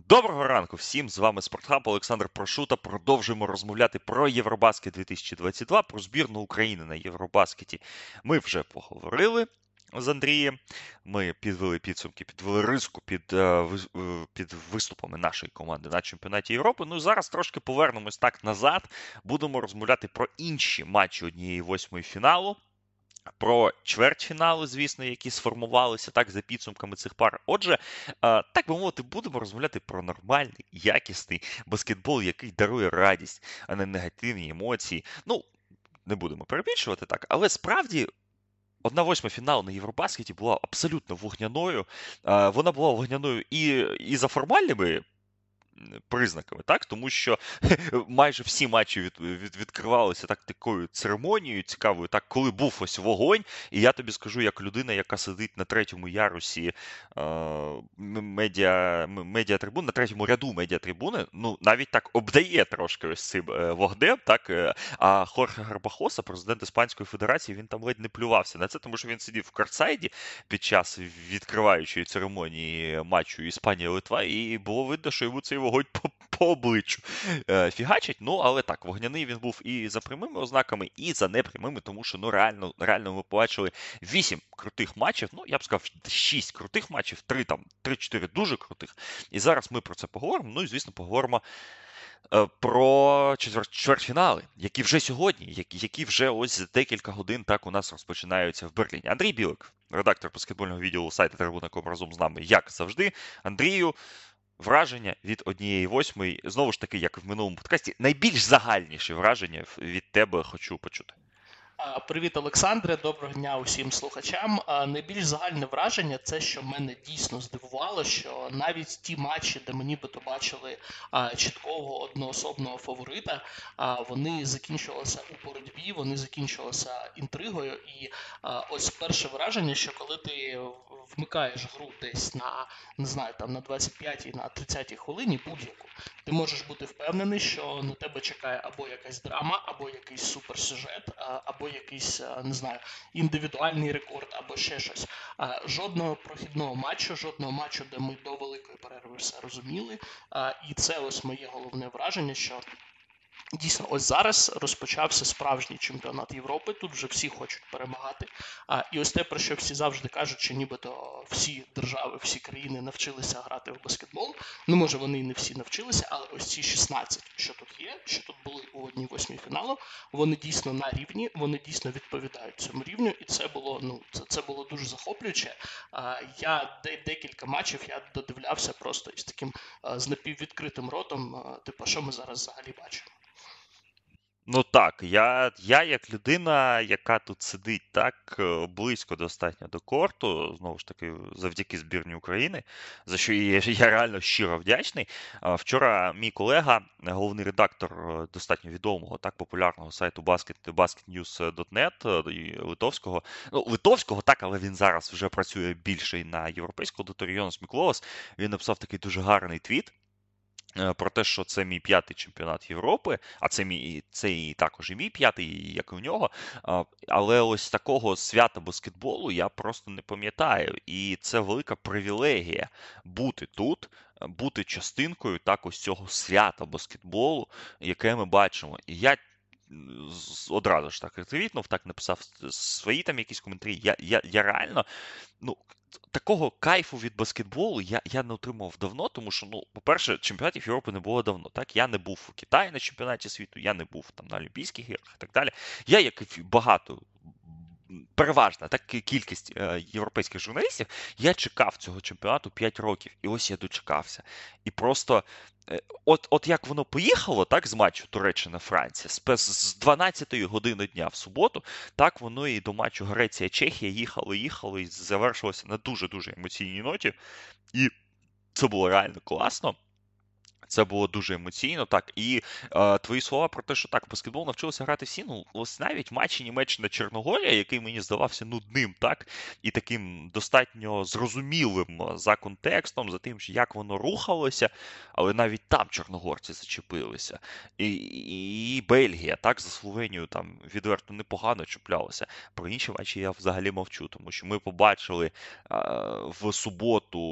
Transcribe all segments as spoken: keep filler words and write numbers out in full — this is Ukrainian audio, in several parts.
Доброго ранку всім, з вами Спортхаб, Олександр Прошута. Продовжуємо розмовляти про Євробаскет дві тисячі двадцять два, про збірну України на Євробаскеті. Ми вже поговорили з Андрієм, ми підвели підсумки, підвели риску під, під виступами нашої команди на чемпіонаті Європи. Ну і зараз трошки повернемось так назад, будемо розмовляти про інші матчі однієї восьмої фіналу. Про чвертьфінали, звісно, які сформувалися так за підсумками цих пар. Отже, так би мовити, будемо розмовляти про нормальний, якісний баскетбол, який дарує радість, а не негативні емоції. Ну, не будемо перебільшувати так, але справді одна восьма фіналу на Євробаскеті була абсолютно вогняною. Вона була вогняною і, і за формальними признаками, так, тому що майже всі матчі від, від, відкривалися так такою церемонією цікавою, так, коли був ось вогонь, і я тобі скажу, як людина, яка сидить на третьому ярусі е, медіа, медіатрибун, на третьому ряду медіатрибуни, ну, навіть так обдає трошки ось цим е, вогнем, так, е, а Хорхе Гарбахоса, президент Іспанської Федерації, він там ледь не плювався на це, тому що він сидів в картсайді під час відкриваючої церемонії матчу Іспанія-Литва, і було видно, що йому цей вогонь по, по обличчю е, фігачить. Ну, але так, вогняний він був і за прямими ознаками, і за непрямими, тому що, ну, реально, реально ми побачили вісім крутих матчів, ну, я б сказав, шість крутих матчів, три там, три-чотири дуже крутих. І зараз ми про це поговоримо, ну, і, звісно, поговоримо е, про четвер- чвертьфінали, які вже сьогодні, які, які вже ось за декілька годин так у нас розпочинаються в Берліні. Андрій Білик, редактор баскетбольного відділу сайту Трибуна точка ком, разом з нами, як завжди. Андрію, враження від однієї восьмої, знову ж таки, як і в минулому подкасті, найбільш загальніші враження від тебе хочу почути. Привіт, Олександре, доброго дня усім слухачам. Найбільш загальне враження – це, що мене дійсно здивувало, що навіть ті матчі, де ми нібито бачили чіткого одноособного фаворита, вони закінчувалися у боротьбі, вони закінчувалися інтригою. І ось перше враження, що коли ти вмикаєш гру десь на, не знаю, там на двадцять п'ятій, на тридцятій хвилині будь-яку, ти можеш бути впевнений, що на тебе чекає або якась драма, або якийсь суперсюжет, або якийсь, не знаю, індивідуальний рекорд, або ще щось. Жодного прохідного матчу, жодного матчу, де ми до великої перерви все розуміли. І це ось моє головне враження, що дійсно, ось зараз розпочався справжній чемпіонат Європи, тут вже всі хочуть перемагати. А, і ось те, про що всі завжди кажуть, що нібито всі держави, всі країни навчилися грати в баскетбол. Ну, може, вони і не всі навчилися, але ось ці шістнадцять, що тут є, що тут були у одній восьмій фіналу, вони дійсно на рівні, вони дійсно відповідають цьому рівню, і це було, ну, це, це було дуже захоплююче. А, я де, декілька матчів я додивлявся просто із таким а, з напіввідкритим ротом, а, типу, що ми зараз взагалі бачимо. Ну так, я, я як людина, яка тут сидить так е, близько достатньо до корту, знову ж таки, завдяки збірні України, за що я, я реально щиро вдячний. А, Вчора мій колега, головний редактор е, достатньо відомого, так, популярного сайту basket, basketnews точка нет, е, і литовського, ну, литовського, так, але він зараз вже працює більше і на європейську аудиторію, Йонас Міклоас, він написав такий дуже гарний твіт про те, що це мій п'ятий чемпіонат Європи, а це мій це і також і мій п'ятий, як і у нього. Але ось такого свята баскетболу я просто не пам'ятаю. І це велика привілегія бути тут, бути частинкою так ось цього свята баскетболу, яке ми бачимо. І я одразу ж так retweetнув, так написав свої там якісь коментарі. Я, я, я реально, ну, такого кайфу від баскетболу я, я не отримав давно, тому що, ну, по-перше, чемпіонатів Європи не було давно. Так, я не був у Китаї на чемпіонаті світу, я не був там на Олімпійських іграх і так далі. Я, як і багато, переважна так кількість е, європейських журналістів, я чекав цього чемпіонату п'ять років, і ось я дочекався. І просто е, от, от як воно поїхало, так, з матчу Туреччина-Франція, з, з дванадцятої години дня в суботу, так воно і до матчу Греція-Чехія їхало, їхало і завершилося на дуже-дуже емоційній ноті. І це було реально класно. Це було дуже емоційно, так, і е, твої слова про те, що так, баскетбол навчилися грати всі, ну, ось навіть матчі Німеччина-Чорногорія, який мені здавався нудним, так, і таким достатньо зрозумілим за контекстом, за тим, як воно рухалося, але навіть там чорногорці зачепилися. І, і, і Бельгія, так, за Словенію там відверто непогано чіплялася. Про інші матчі я взагалі мовчу, тому що ми побачили е, в суботу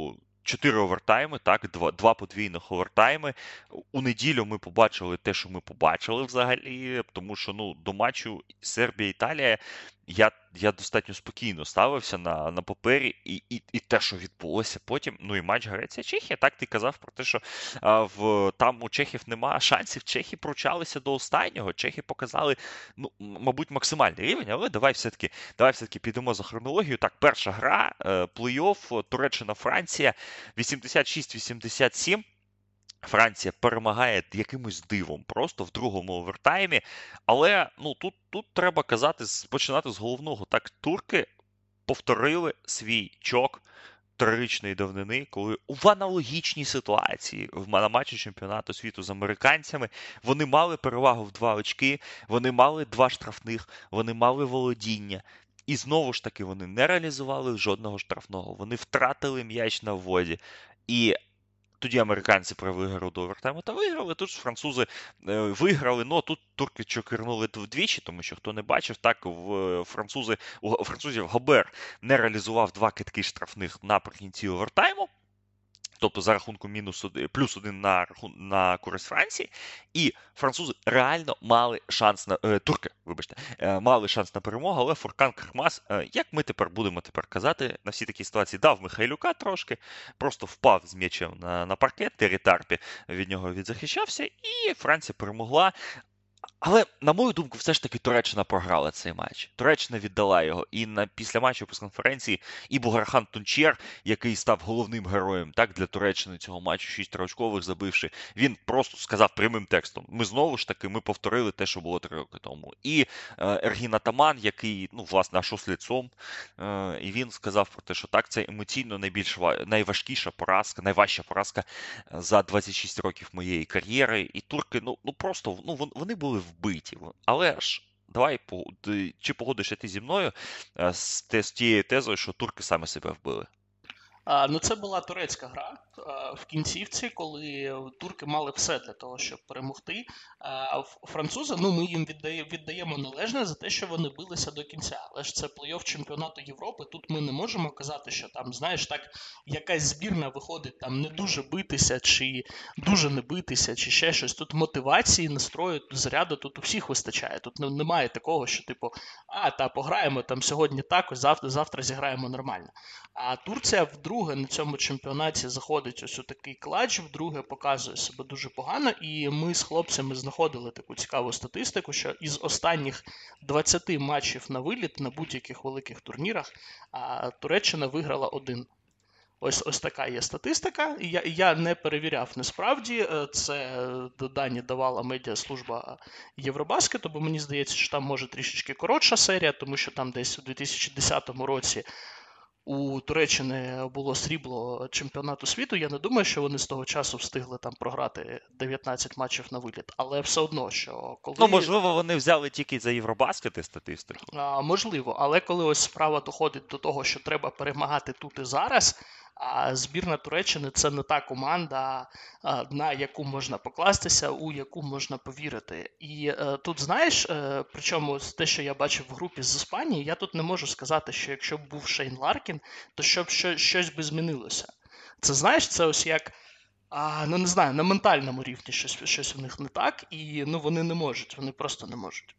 чотири овертайми, так, два, два подвійних овертайми. У неділю ми побачили те, що ми побачили взагалі, тому що, ну, до матчу Сербія-Італія я, я достатньо спокійно ставився на, на папері, і, і, і те, що відбулося потім, ну і матч Греція-Чехія, так ти казав про те, що а, в, там у чехів немає шансів, чехи пручалися до останнього, чехи показали, ну, мабуть, максимальний рівень, але давай все-таки, давай все-таки підемо за хронологію. Так, перша гра, плей-офф, Туреччина-Франція, вісімдесят шість вісімдесят сім. Франція перемагає якимось дивом просто в другому овертаймі. Але ну, тут, тут треба казати, починати з головного. Так, турки повторили свій чок трирічної давнини, коли в аналогічній ситуації на матчі чемпіонату світу з американцями вони мали перевагу в два очки, вони мали два штрафних, вони мали володіння. І знову ж таки вони не реалізували жодного штрафного. Вони втратили м'яч на вводі. І тоді американці провели гру до овертайму та виграли. Тут ж французи е, виграли, ну тут турки чокернули вдвічі, тому що хто не бачив, так в французи, у французів Гобер не реалізував два кидки штрафних наприкінці овертайму. Тобто за рахунку мінус один, плюс один на, на користь Франції. І французи реально мали шанс на... Е, турки, вибачте, е, мали шанс на перемогу, але Фуркан Крахмаз, е, як ми тепер будемо тепер казати, на всі такі ситуації дав Михайлюка трошки, просто впав з м'ячем на, на паркет, Террі Тарпі від нього відзахищався, і Франція перемогла. Але, на мою думку, все ж таки Туреччина програла цей матч. Туреччина віддала його. І на після матчу прес-конференції і Бугархан Тунчер, який став головним героєм так, для Туреччини цього матчу, шість триочкових забивши, він просто сказав прямим текстом: ми знову ж таки, ми повторили те, що було три роки тому. І е, Ергін Атаман, який, ну, власне, аж ослідцом, е, і він сказав про те, що так, це емоційно найбільш найважкіша поразка, найважча поразка за двадцять шість років моєї кар'єри. І турки, ну, ну просто, ну, вони були вбиті. Але ж, давай, чи погодишся ти зі мною з, з тією тезою, що турки саме себе вбили? А, ну, це була турецька гра а, в кінцівці, коли турки мали все для того, щоб перемогти. А французи, ну, ми їм віддає, віддаємо належне за те, що вони билися до кінця. Але ж це плей-офф чемпіонату Європи. Тут ми не можемо казати, що там, знаєш, так, якась збірна виходить там не дуже битися, чи дуже не битися, чи ще щось. Тут мотивації, настрою, заряду тут у всіх вистачає. Тут немає такого, що, типу, а, та, пограємо там сьогодні так, ось завтра, завтра зіграємо нормально. А Турція вдруге на цьому чемпіонаті заходить ось у такий клатч, вдруге показує себе дуже погано, і ми з хлопцями знаходили таку цікаву статистику, що із останніх двадцяти матчів на виліт на будь-яких великих турнірах а, Туреччина виграла один. Ось ось така є статистика. Я я не перевіряв насправді. Це дані давала медіаслужба Євробаскету, бо мені здається, що там може трішечки коротша серія, тому що там десь у дві тисячі десятому році у Туреччини було срібло чемпіонату світу. Я не думаю, що вони з того часу встигли там програти дев'ятнадцять матчів на виліт. Але все одно, що коли... Ну, можливо, вони взяли тільки за Євробаскети статистику. А, можливо, але коли ось справа доходить до того, що треба перемагати тут і зараз, а збірна Туреччини – це не та команда, на яку можна покластися, у яку можна повірити. І е, тут, знаєш, е, причому те, що я бачив в групі з Іспанії, я тут не можу сказати, що якщо б був Шейн Ларкін, то щоб що, щось би змінилося. Це, знаєш, це ось як, а, ну не знаю, на ментальному рівні щось, щось у них не так, і ну вони не можуть, вони просто не можуть.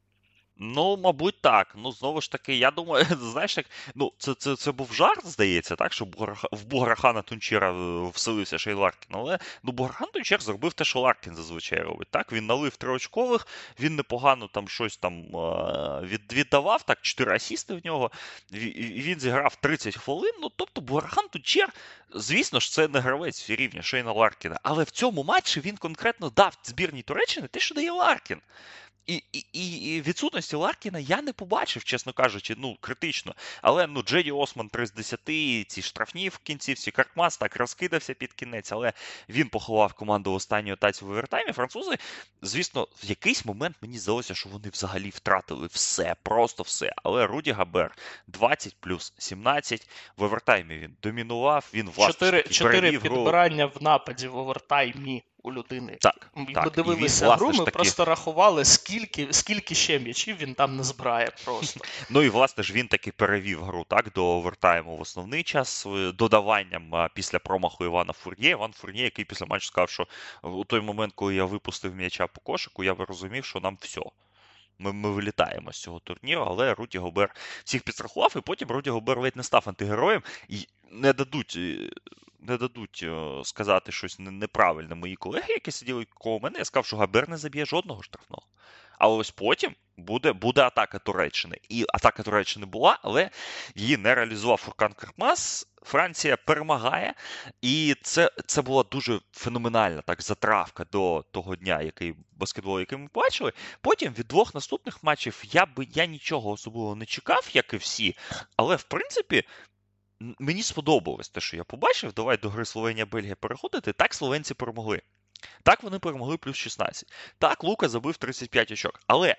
Ну, мабуть, так. Ну, знову ж таки, я думаю, знаєш, як, ну, це, це, це був жарт, здається, так, що Буграха, в Бугархана Тунчера вселився Шейн Ларкін, але, ну, Бугархан Тунчер зробив те, що Ларкін зазвичай робить, так, він налив триочкових, він непогано там щось там від, віддавав, так, чотири асісти в нього, він зіграв тридцять хвилин, ну, тобто Бугархан Тунчер, звісно ж, це не гравець рівня Шейна Ларкіна, але в цьому матчі він конкретно дав збірній Туреччини те, що дає Ларкін. І, і, і відсутності Ларкіна я не побачив, чесно кажучи, ну, критично. Але, ну, Джеді Осман три з десяти, ці штрафні в кінцівці, Крахмаз так розкидався під кінець, але він поховав команду в останню тацію в овертаймі. Французи, звісно, в якийсь момент мені здалося, що вони взагалі втратили все, просто все. Але Руді Гобер двадцять плюс сімнадцять, в овертаймі він домінував, він власне Чотири підбирання в нападі в овертаймі у людини. Так, Ми так. І він, дивилися власне гру, ж ми таки, просто рахували, скільки, скільки ще м'ячів він там не збирає просто. ну і власне ж він таки перевів гру так до овертайму в основний час е, додаванням а, після промаху Івана Фурньє. Іван Фурньє, який після матчу сказав, що у той момент, коли я випустив м'яча по кошику, я розумів, що нам все. Ми, ми вилітаємо з цього турніру, але Руді Гобер всіх підстрахував, і потім Руді Гобер ледь не став антигероєм. І не дадуть, е, не дадуть е, сказати щось не- неправильне мої колеги, які сиділи коло мене. Я сказав, що Гобер не заб'є жодного штрафного. Але ось потім буде, буде атака Туреччини. І атака Туреччини була, але її не реалізував Фуркан Коркмаз. Франція перемагає, і це, це була дуже феноменальна так затравка до того дня, який баскетбол, який ми бачили. Потім від двох наступних матчів я би я нічого особливо не чекав, як і всі. Але в принципі м- мені сподобалось те, що я побачив. Давай до гри Словенія-Бельгія переходити. Так словенці перемогли. Так вони перемогли плюс шістнадцять. Так Лука забив тридцять п'ять очок. Але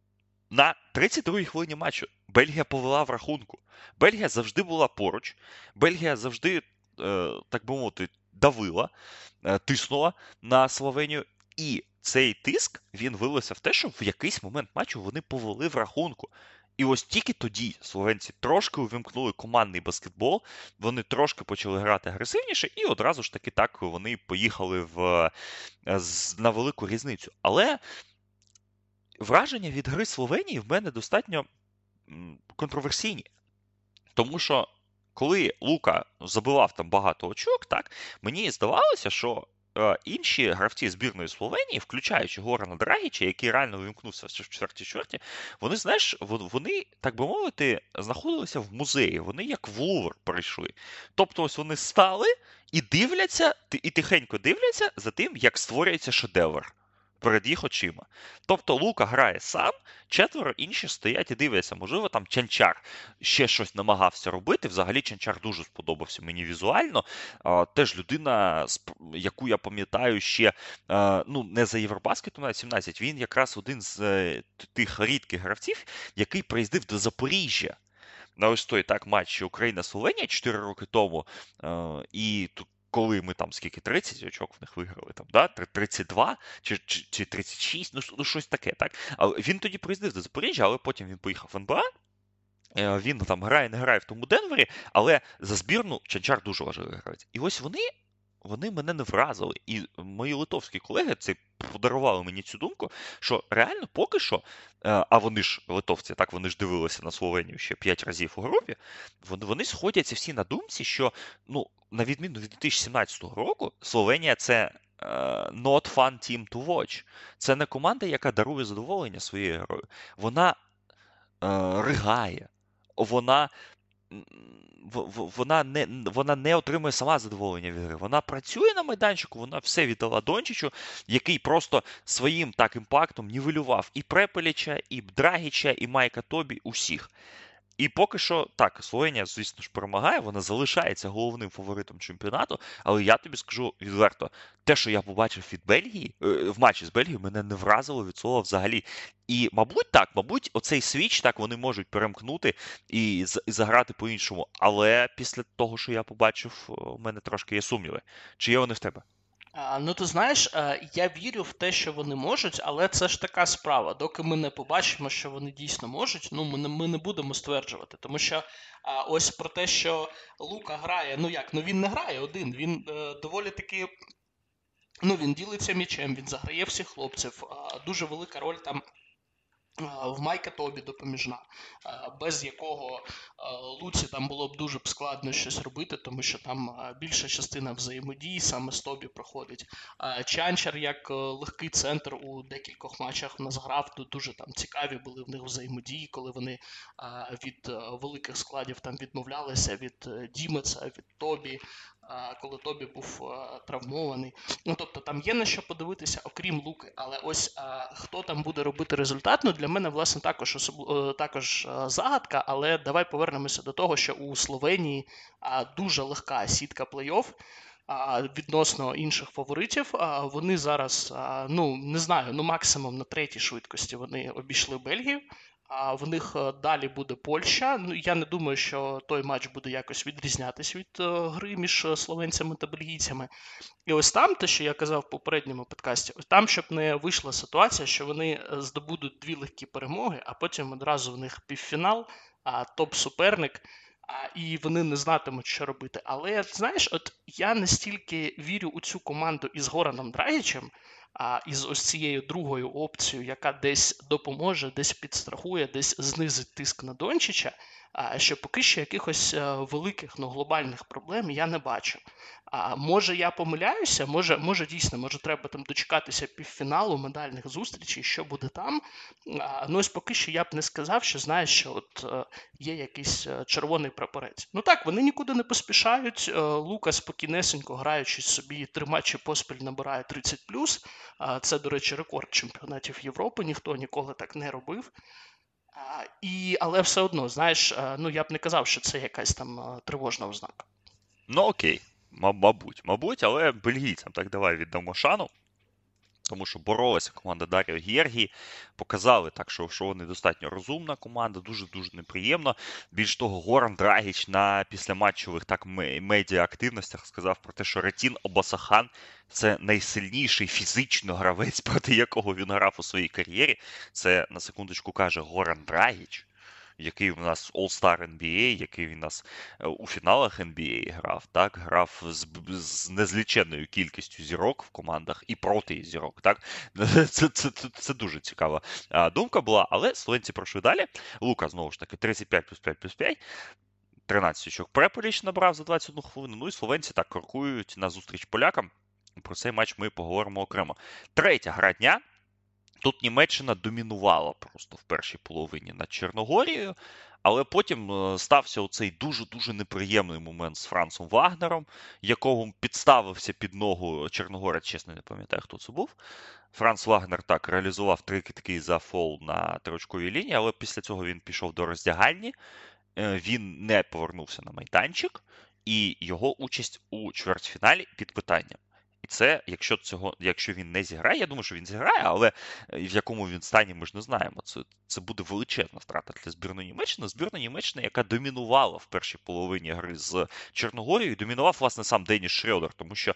на тридцять другій хвилині матчу Бельгія повела в рахунку. Бельгія завжди була поруч. Бельгія завжди, е, так би мовити, давила, е, тиснула на Словенію. І цей тиск, він вилився в те, що в якийсь момент матчу вони повели в рахунку. І ось тільки тоді словенці трошки увімкнули командний баскетбол, вони трошки почали грати агресивніше, і одразу ж таки так вони поїхали в, е, з- на велику різницю. Але враження від гри Словенії в мене достатньо м, контроверсійні. Тому що коли Лука забивав там багато очок, так, мені здавалося, що е, інші гравці збірної Словенії, включаючи Горана Драгіча, який реально вимкнувся в четвертій чверті, вони, знаєш, вон- вони, так би мовити, знаходилися в музеї. Вони як в Лувр прийшли. Тобто ось вони стали і дивляться, ти- і тихенько дивляться за тим, як створюється шедевр перед їх очима. Тобто Лука грає сам, четверо інші стоять і дивляться. Можливо, там Чанчар ще щось намагався робити. Взагалі Чанчар дуже сподобався мені візуально. А, теж людина, сп- яку я пам'ятаю ще, а, ну, не за Євробаскетом, навіть сімнадцять, він якраз один з е, тих рідких гравців, який приїздив до Запоріжжя. На ось той так матч Україна-Словенія чотири роки тому. Е, і тут коли ми там скільки тридцять очок в них виграли, там, да? тридцять два чи, чи, чи тридцять шість, ну, ну щось таке, так? Але він тоді приїздив до Запоріжжя, але потім він поїхав в ен бе а. Е, Він там грає, не грає в тому Денвері, але за збірну Чанчар дуже важливий гравець. І ось вони, вони мене не вразили. І мої литовські колеги це подарували мені цю думку, що реально поки що, е, а вони ж литовці, так вони ж дивилися на Словенію ще п'ять разів у групі, вони, вони сходяться всі на думці, що, ну, на відміну від дві тисячі сімнадцятого року, Словенія це е, not fun team to watch. Це не команда, яка дарує задоволення своєю грою. Вона е, ригає. Вона м, в- в- вона не, вона не отримує сама задоволення від гри. Вона працює на майданчику, вона все віддала Дончичу, який просто своїм так імпактом нівелював і Препеліча, і Драгіча, і Майка Тобі, усіх. І поки що, так, Словенія, звісно ж, перемагає, вона залишається головним фаворитом чемпіонату, але я тобі скажу відверто, те, що я побачив від Бельгії, е, в матчі з Бельгією, мене не вразило від слова взагалі. І, мабуть, так, мабуть, оцей свіч так вони можуть перемкнути і, з- і заграти по-іншому. Але після того, що я побачив, у мене трошки є сумніви. Чи є вони в тебе? А, ну, ти знаєш, е, я вірю в те, що вони можуть, але це ж така справа. Доки ми не побачимо, що вони дійсно можуть, ну ми не, ми не будемо стверджувати. Тому що а, ось про те, що Лука грає, ну як, ну він не грає один, він е, доволі таки. Ну, він ділиться м'ячем, він заграє всіх хлопців. А, дуже велика роль там а, в Майка Тобі допоміжна, а, без якого а, Луці там було б дуже б складно щось робити, тому що там а, більша частина взаємодії саме з Тобі проходить. А, Чанчар як е, легкий центр у декількох матчах в нас грав, тут дуже там цікаві були в них взаємодії, коли вони а, від е, великих складів там відмовлялися від е, Дімеца, від Тобі, а, коли Тобі був е, травмований. Ну, тобто там є на що подивитися, окрім Луки, але ось а, хто там буде робити результат, ну для мене, власне, також, особ... е, також е, загадка, але давай повернемося до того, що у Словенії а, дуже легка сітка плей-офф а, відносно інших фаворитів. А, вони зараз, а, ну, не знаю, ну максимум на третій швидкості вони обійшли Бельгію. А в них е, далі буде Польща. Ну, я не думаю, що той матч буде якось відрізнятись від е, гри між е, словенцями та бельгійцями. І ось там, те, що я казав в попередньому подкасті, ось там, щоб не вийшла ситуація, що вони е, здобудуть дві легкі перемоги, а потім одразу в них півфінал, а топ-суперник, а, і вони не знатимуть, що робити. Але знаєш, от я настільки вірю у цю команду із Гораном Драгічем, а із ось цією другою опцією, яка десь допоможе, десь підстрахує, десь знизить тиск на Дончича, а, що поки що якихось е, великих, ну, глобальних проблем я не бачу. А може я помиляюся, може, може дійсно, може треба там дочекатися півфіналу, медальних зустрічей, що буде там. А, ну ось поки що я б не сказав, що знаєш, що от е, є якийсь е, червоний прапорець. Ну так, вони нікуди не поспішають. Е, Лука спокійнесенько, граючи собі три матчі поспіль, набирає тридцять плюс. А, це, до речі, рекорд чемпіонатів Європи, ніхто ніколи так не робив. А, і, але все одно, знаєш, е, ну я б не казав, що це якась там е, тривожна ознака. Ну окей, ма- мабуть, мабуть, але бельгійцям так давай віддамо шану. Тому що боролася команда Даріо Гєргі, показали так, що, що вони достатньо розумна команда, дуже-дуже неприємно. Більш того, Горан Драгіч на післяматчових так ме- медіа-активностях сказав про те, що Ретін Обасахан – це найсильніший фізично гравець, проти якого він грав у своїй кар'єрі. Це, на секундочку, каже Горан Драгіч, який у нас All-Star ен бі ей, який він у нас е, у фіналах ен бі ей грав, так, грав з, б- з незліченною кількістю зірок в командах і проти зірок, так. Це, це, це, це дуже цікава а, думка була, але словенці пройшли далі. Лука, знову ж таки, тридцять п'ять плюс п'ять плюс п'ять, тринадцять очок Преполіч набрав за двадцять одну хвилину, ну і словенці так крокують на зустріч полякам. Про цей матч ми поговоримо окремо. Третя гра дня. Тут Німеччина домінувала просто в першій половині над Чорногорією, але потім е, стався оцей дуже-дуже неприємний момент з Францом Вагнером, якого підставився під ногу Чорногорець, чесно не пам'ятаю, хто це був. Франц Вагнер так реалізував три китки за фол на триочковій лінії, але після цього він пішов до роздягальні, е, він не повернувся на майданчик, і його участь у чвертьфіналі під питанням. І це, якщо цього, якщо він не зіграє, я думаю, що він зіграє, але в якому він стані, ми ж не знаємо. Це, це буде величезна втрата для збірної Німеччини. Збірна Німеччини, яка домінувала в першій половині гри з Чорногорією, домінував, власне, сам Деніс Шрьодер, тому що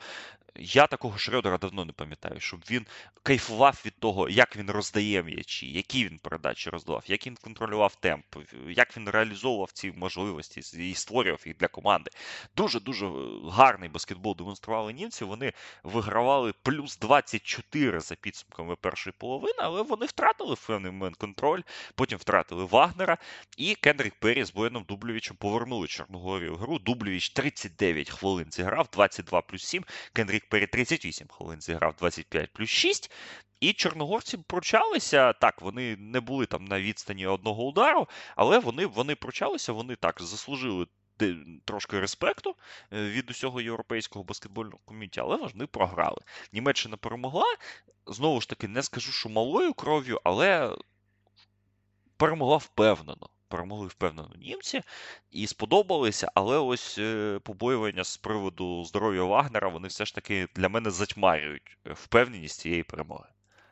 я такого Шрьодера давно не пам'ятаю, щоб він кайфував від того, як він роздає м'ячі, які він передачі роздавав, як він контролював темп, як він реалізовував ці можливості і створював їх для команди. Дуже-дуже гарний баскетбол демонстрували німці, вони вигравали плюс двадцять чотири за підсумками першої половини, але вони втратили в певний момент контроль, потім втратили Вагнера, і Кендрік Перрі з Бояном Дублєвічем повернули Чорногорію в гру. Дублєвіч тридцять дев'ять хвилин зіграв, двадцять два плюс сім, Кендрік Перрі тридцять вісім хвилин зіграв, двадцять п'ять плюс шість, і чорногорці пручалися, так, вони не були там на відстані одного удару, але вони, вони пручалися, вони так заслужили трошки респекту від усього європейського баскетбольного ком'юніті, але вони програли. Німеччина перемогла, знову ж таки, не скажу, що малою кров'ю, але перемогла впевнено. Перемогли впевнено німці і сподобалися, але ось побоювання з приводу здоров'я Вагнера, вони все ж таки для мене затьмарюють впевненість цієї перемоги.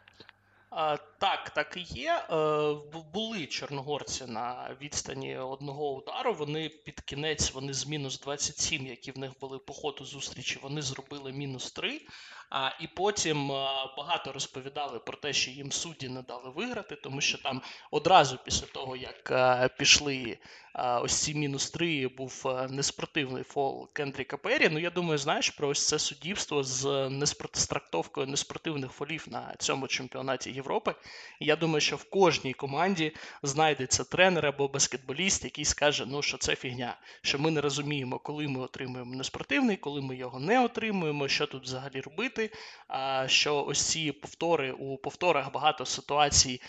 А, так, так і є. Е, були чорногорці на відстані одного удару. Вони під кінець, вони з мінус двадцять сім, які в них були по ходу зустрічі, вони зробили мінус три. А, і потім а, багато розповідали про те, що їм судді не дали виграти, тому що там одразу після того, як а, пішли а, ось ці мінус три, був а, неспортивний фол Кендріка Перрі. Ну, я думаю, знаєш, про ось це суддівство з неспорт... з трактовкою неспортивних фолів на цьому чемпіонаті Європи. І я думаю, що в кожній команді знайдеться тренер або баскетболіст, який скаже, ну, що це фігня, що ми не розуміємо, коли ми отримуємо неспортивний, коли ми його не отримуємо, що тут взагалі робити. Що ось ці повтори, у повторах багато ситуацій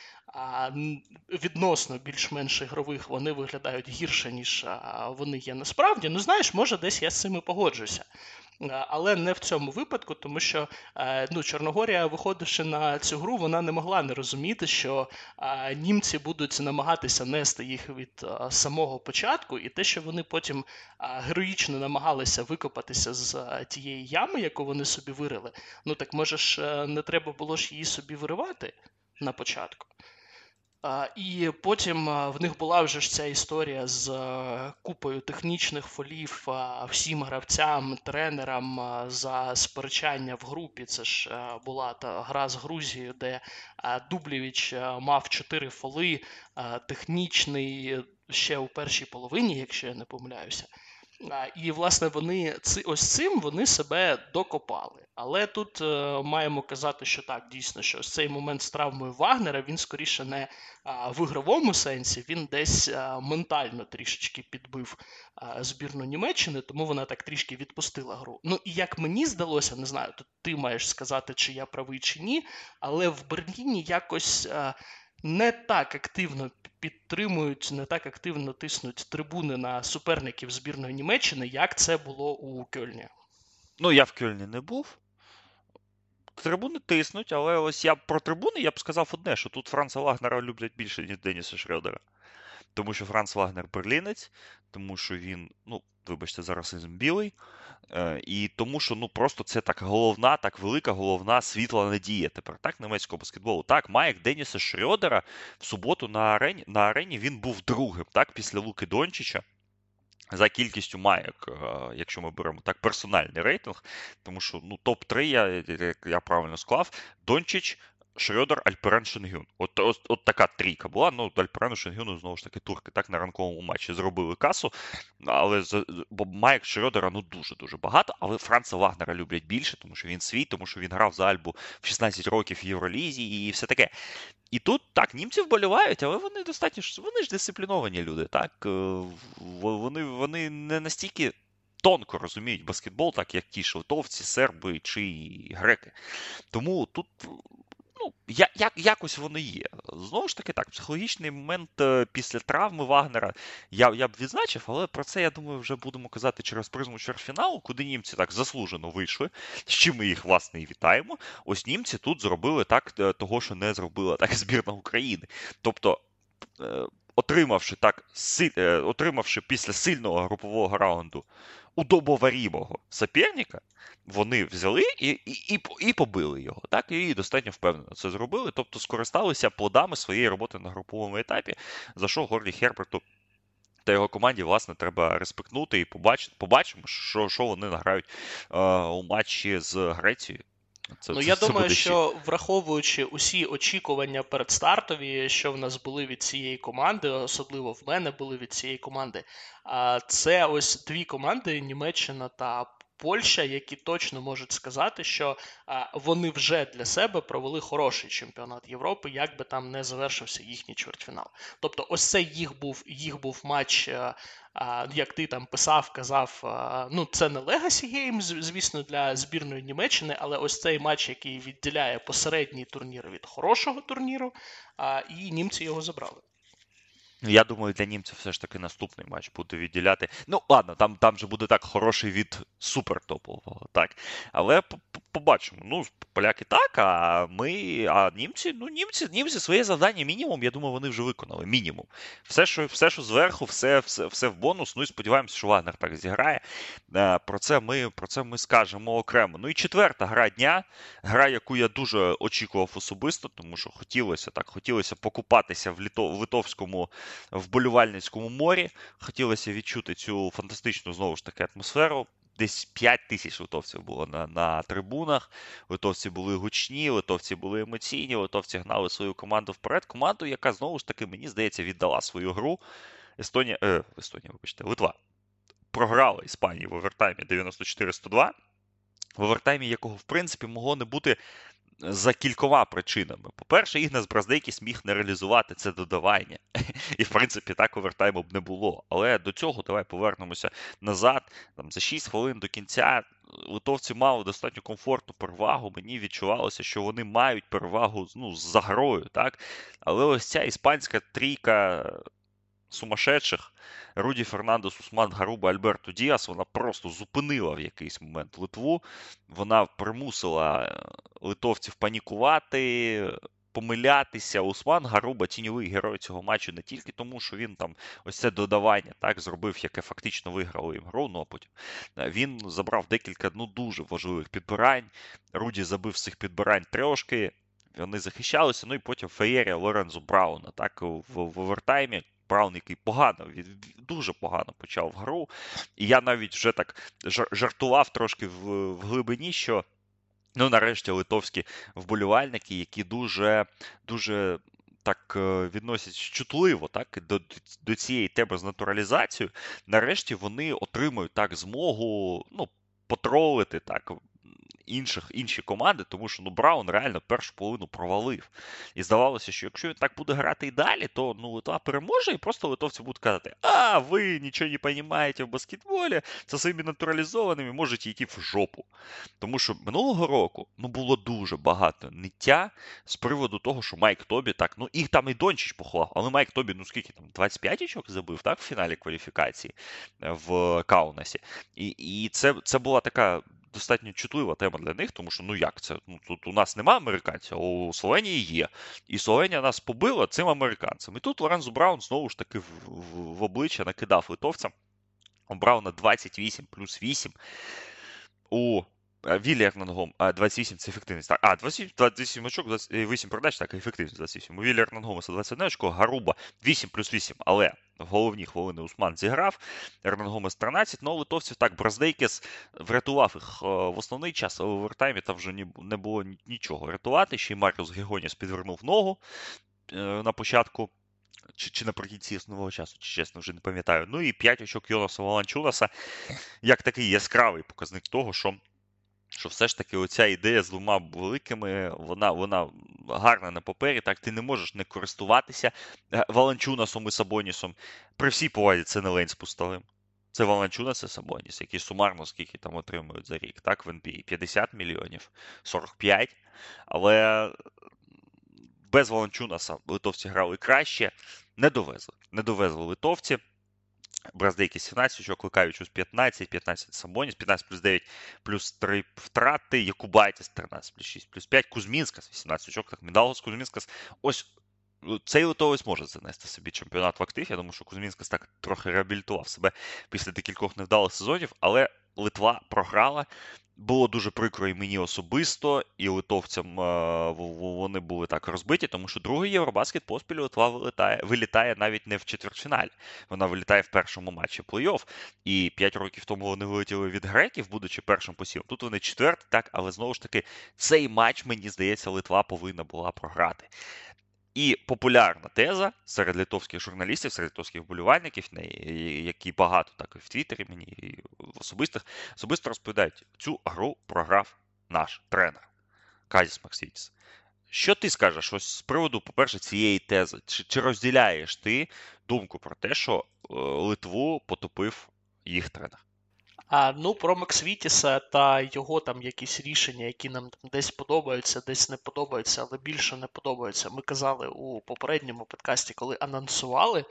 відносно більш-менш ігрових, вони виглядають гірше, ніж вони є насправді. Ну, знаєш, може, десь я з цим і погоджуся. Але не в цьому випадку, тому що ну, Чорногорія, виходивши на цю гру, вона не могла не розуміти, що а, німці будуть намагатися нести їх від а, самого початку, і те, що вони потім а, героїчно намагалися викопатися з а, тієї ями, яку вони собі вирили, ну так може ж не треба було ж її собі виривати на початку. А, І потім а, в них була вже ж ця історія з а, купою технічних фолів а, всім гравцям, тренерам а, за сперечання в групі. Це ж а, була та гра з Грузією, де а, Дублєвіч а, мав чотири фоли, а, технічний ще у першій половині, якщо я не помиляюся. А, І, власне, вони ци- ось цим вони себе докопали. Але тут е, маємо казати, що так, дійсно, що ось цей момент з травмою Вагнера, він скоріше не а, в ігровому сенсі, він десь а, ментально трішечки підбив а, збірну Німеччини, тому вона так трішки відпустила гру. Ну і як мені здалося, не знаю, тут ти маєш сказати, чи я правий, чи ні, але в Берліні якось а, не так активно підтримують, не так активно тиснуть трибуни на суперників збірної Німеччини, як це було у Кьольні. Ну, я в Кельні не був. Трибуни тиснуть, але ось я про трибуни я б сказав одне, що тут Франца Вагнера люблять більше, ніж Деніса Шрёдера. Тому що Франц Вагнер берлінець, тому що він, ну, вибачте, за расизм білий, е, і тому що, ну, просто це так головна, так велика, головна світла надія тепер, так, німецького баскетболу. Так, Майк Деніса Шрёдера в суботу на арені, на арені він був другим, так, після Луки Дончича. За кількістю маєк, е, якщо ми беремо так персональний рейтинг, тому що ну топ три, я, як я правильно склав, Дончич, Шрёдер, Альперен, Шенгюн. От, от, от така трійка була. Ну, Альперену, Шенгюну, знову ж таки, турки так на ранковому матчі зробили касу, але з- бо маєк Шрёдера ну дуже-дуже багато, але Франца Вагнера люблять більше, тому що він свій, тому що він грав за Альбу в шістнадцять років в Євролізі і все таке. І тут так, німці вболівають, але вони достатньо ж вони ж дисципліновані люди. Так Е, в- вони, вони не настільки тонко розуміють баскетбол, так як ті ж литовці, серби чи греки. Тому тут ну, я, як, якось воно є. Знову ж таки, так, психологічний момент е, після травми Вагнера я, я б відзначив, але про це, я думаю, вже будемо казати через призму чвертьфіналу, куди німці так заслужено вийшли, з чим ми їх, власне, і вітаємо. Ось німці тут зробили так е, того, що не зробила так збірна України. Тобто, е, отримавши так, си- е, отримавши після сильного групового раунду удобоварімого соперника, вони взяли і, і, і, і побили його. Так, і достатньо впевнено це зробили. Тобто скористалися плодами своєї роботи на груповому етапі, за що Горді Херберту та його команді, власне, треба респектнути і побачити, побачимо, що, що вони награють е, у матчі з Грецією. Це, Ну, це, я це думаю, буде ще. що враховуючи усі очікування передстартові, що в нас були від цієї команди, особливо в мене були від цієї команди, а це ось дві команди Німеччина та Польща, які точно можуть сказати, що а, вони вже для себе провели хороший чемпіонат Європи, як би там не завершився їхній чвертьфінал. Тобто, ось це їх був їх був матч. а, а, Як ти там писав, казав, а, ну це не Legacy Game, з- звісно, для збірної Німеччини, але ось цей матч, який відділяє посередній турнір від хорошого турніру, а, і німці його забрали. Я думаю, для німців все ж таки наступний матч буде відділяти. Ну, ладно, там, там же буде так хороший від супертопового, так. Але по- по- побачимо. Ну, поляки так, а ми, а німці, ну, німці, німці своє завдання мінімум, я думаю, вони вже виконали. Мінімум. Все, що, все, що зверху, все, все, все в бонус. Ну і сподіваємося, що Вагнер так зіграє. Е, Про це ми, про це ми скажемо окремо. Ну і четверта гра дня. Гра, яку я дуже очікував особисто, тому що хотілося так, хотілося покупатися в літо, в литовському вболівальницькому морі. Хотілося відчути цю фантастичну, знову ж таки, атмосферу. Десь п'ять тисяч литовців було на, на трибунах. Литовці були гучні, литовці були емоційні, литовці гнали свою команду вперед. Команду, яка, знову ж таки, мені здається, віддала свою гру. Естонія, е, Естонія, вибачте, Литва програла Іспанії в овертаймі дев'яносто чотири сто два. В овертаймі якого, в принципі, могло не бути за кількома причинами. По-перше, Ігнас Браздейкіс міг не реалізувати це додавання. І, в принципі, так овертайму б не було. Але до цього давай повернемося назад. Там, за шість хвилин до кінця литовці мали достатньо комфортну перевагу. Мені відчувалося, що вони мають перевагу ну, з загрою. Так? Але ось ця іспанська трійка сумасшедших Руді Фернандес, Усман Гаруба, Альберто Діас, вона просто зупинила в якийсь момент Литву. Вона примусила литовців панікувати, помилятися. Усман Гаруба тіньовий герой цього матчу не тільки тому, що він там ось це додавання так зробив, яке фактично виграло їм гру, ну а потім він забрав декілька ну дуже важливих підбирань. Руді забив з цих підбирань трошки. вони захищалися, ну і потім феєрія Лорензо Брауна, так, в, в овертаймі. Браун, який погано, дуже погано почав гру. І я навіть вже так жартував трошки в, в глибині, що ну, нарешті литовські вболівальники, які дуже, дуже так відносять чутливо так, до, до цієї теми з натуралізацією, нарешті вони отримують так змогу, ну, потролити так інших, інші команди, тому що ну, Браун реально першу половину провалив. І здавалося, що якщо він так буде грати і далі, то ну, Литва переможе, і просто литовці будуть казати: а, ви нічого не розумієте в баскетболі, це своїми натуралізованими можете йти в жопу. Тому що минулого року ну, було дуже багато ниття з приводу того, що Майк Тобі, так, ну їх там і Дончич поховав, але Майк Тобі, ну скільки там, двадцять п'ять очок забив, так, в фіналі кваліфікації в Каунасі. І, і це, це була така достатньо чутлива тема для них, тому що, ну як це? Ну, тут у нас нема американців, а у Словенії є. І Словенія нас побила цим американцем. І тут Лорензо Браун знову ж таки в, в, в обличчя накидав литовцям. У Брауна двадцять вісім плюс вісім. У Віллі Ернангом двадцять вісім це ефективність. Так, а, двадцять вісім, двадцять вісім очок, двадцять вісім передач, так, ефективність двадцять вісім. У Віллі Ернангомаса двадцять одне очко, Гаруба вісім плюс вісім, але в головні хвилини Усман зіграв, Ернангомас тринадцять, ну, литовців так, Браздейкіс врятував їх в основний час, але в овертаймі там вже не було нічого рятувати, ще й Маріус Гегоніс підвернув ногу на початку, чи, чи наприкінці основного часу, чи чесно, вже не пам'ятаю. Ну і п'ять очок Йонаса Воланчунаса, як такий яскравий показник того, що що все ж таки оця ідея з двома великими, вона, вона гарна на папері, так, ти не можеш не користуватися Воланчунасом і Сабонісом. При всій повазі це не лень з пустовим. Це Воланчунас і Сабоніс, які сумарно скільки там отримують за рік, так, в ен бі ей п'ятдесят мільйонів, сорок п'ять, але без Воланчунаса литовці грали краще, не довезли, не довезли литовці. Браздейкіс сімнадцять очок, Ликавічус п'ятнадцять, п'ятнадцять Сабоніс, п'ятнадцять плюс дев'ять плюс три втрати, Якубайтіс тринадцять плюс шість плюс п'ять, Кузмінскас вісімнадцять очок, так, Мідалгос, Кузмінскас. Ось цей литовець може занести собі чемпіонат в актив. Я думаю, що Кузмінскас так трохи реабілітував себе після декількох невдалих сезонів, але Литва програла. Було дуже прикро і мені особисто, і литовцям вони були так розбиті, тому що другий Євробаскет поспіль Литва вилітає, вилітає навіть не в четвертьфіналі. Вона вилітає в першому матчі плей-офф. І п'ять років тому вони вилетіли від греків, будучи першим посівом. Тут вони четверті, так, але знову ж таки цей матч, мені здається, Литва повинна була програти. І популярна теза серед литовських журналістів, серед литовських вболівальників, які багато так і в Твіттері мені, і в особистих, особисто розповідають, цю гру програв наш тренер Казіс Максвітіс. Що ти скажеш ось з приводу, по-перше, цієї тези? Чи, чи розділяєш ти думку про те, що е, Литву потопив їх тренер? А, ну, про Максвітіса та його там якісь рішення, які нам там десь подобаються, десь не подобаються, але більше не подобаються. Ми казали у попередньому подкасті, коли анонсували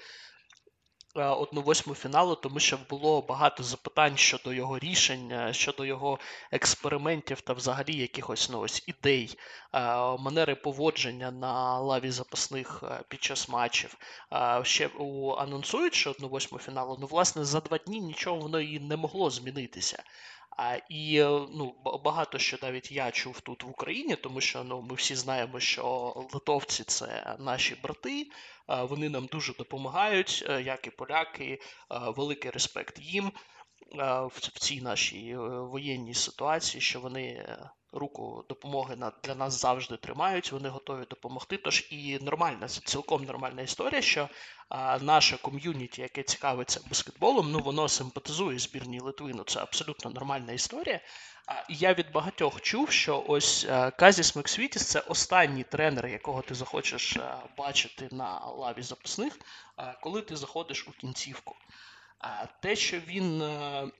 одну восьму фіналу, тому що було багато запитань щодо його рішень, щодо його експериментів та взагалі якихось ну, ось ідей, манери поводження на лаві запасних під час матчів. Ще у анонсуючи одну восьму фіналу, ну, власне, за два дні нічого воно і не могло змінитися. А, і ну, багато що навіть я чув тут в Україні, тому що ну, ми всі знаємо, що литовці – це наші брати, вони нам дуже допомагають, як і поляки, великий респект їм в цій нашій воєнній ситуації, що вони руку допомоги для нас завжди тримають, вони готові допомогти. Тож і нормальна, цілком нормальна історія, що а, наше ком'юніті, яке цікавиться баскетболом, ну воно симпатизує збірній Литви, ну це абсолютно нормальна історія. А, і я від багатьох чув, що ось а, Казіс Максвітіс – це останній тренер, якого ти захочеш а, бачити на лаві запасних, а, коли ти заходиш у кінцівку. А те, що він а,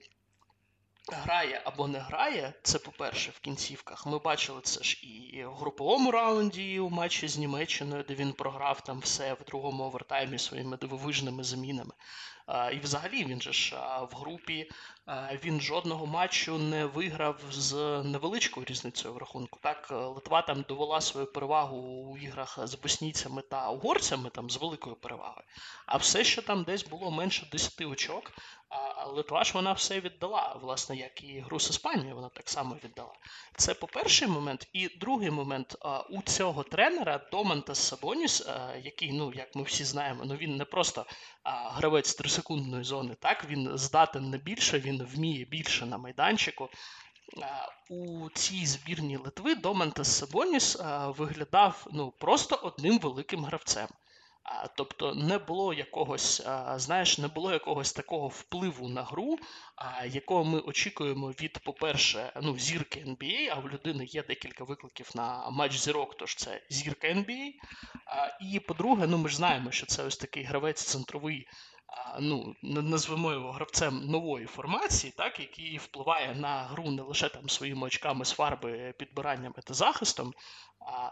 грає або не грає, це, по-перше, в кінцівках. Ми бачили це ж і в груповому раунді, і у матчі з Німеччиною, де він програв там все в другому овертаймі своїми дивовижними замінами. І взагалі він же ж в групі, він жодного матчу не виграв з невеличкою різницею в рахунку. Так, Литва там довела свою перевагу у іграх з боснійцями та угорцями там з великою перевагою. А все, що там десь було менше десяти очок, А Литва ж вона все віддала, власне, як і гру з Іспанією, вона так само віддала. Це по перший момент. І другий момент, а, у цього тренера Домантас Сабоніс, а, який, ну, як ми всі знаємо, ну він не просто а, гравець трисекундної зони, так, він здатен на більше, він вміє більше на майданчику. А, У цій збірній Литви Домантас Сабоніс а, виглядав, ну, просто одним великим гравцем. А, Тобто не було якогось, а, знаєш, не було якогось такого впливу на гру, а, якого ми очікуємо від, по-перше, ну, зірки ен бі ей, а в людини є декілька викликів на матч зірок, тож це зірка ен бі ей. А, І, по-друге, ну, ми ж знаємо, що це ось такий гравець центровий, а, ну, н- назвемо його гравцем нової формації, так, який впливає на гру не лише там своїми очками з фарби, підбираннями та захистом. а,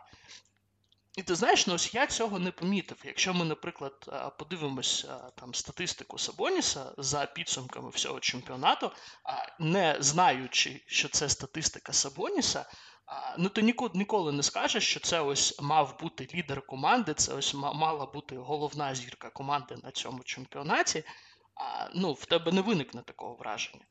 і ти знаєш, ну ось я цього не помітив. Якщо ми, наприклад, а, подивимось а, там статистику Сабоніса за підсумками всього чемпіонату, а, не знаючи, що це статистика Сабоніса, а, ну ти ніколи, ніколи не скажеш, що це ось мав бути лідер команди, це ось ма- мала бути головна зірка команди на цьому чемпіонаті. А, ну, в тебе не виникне такого враження.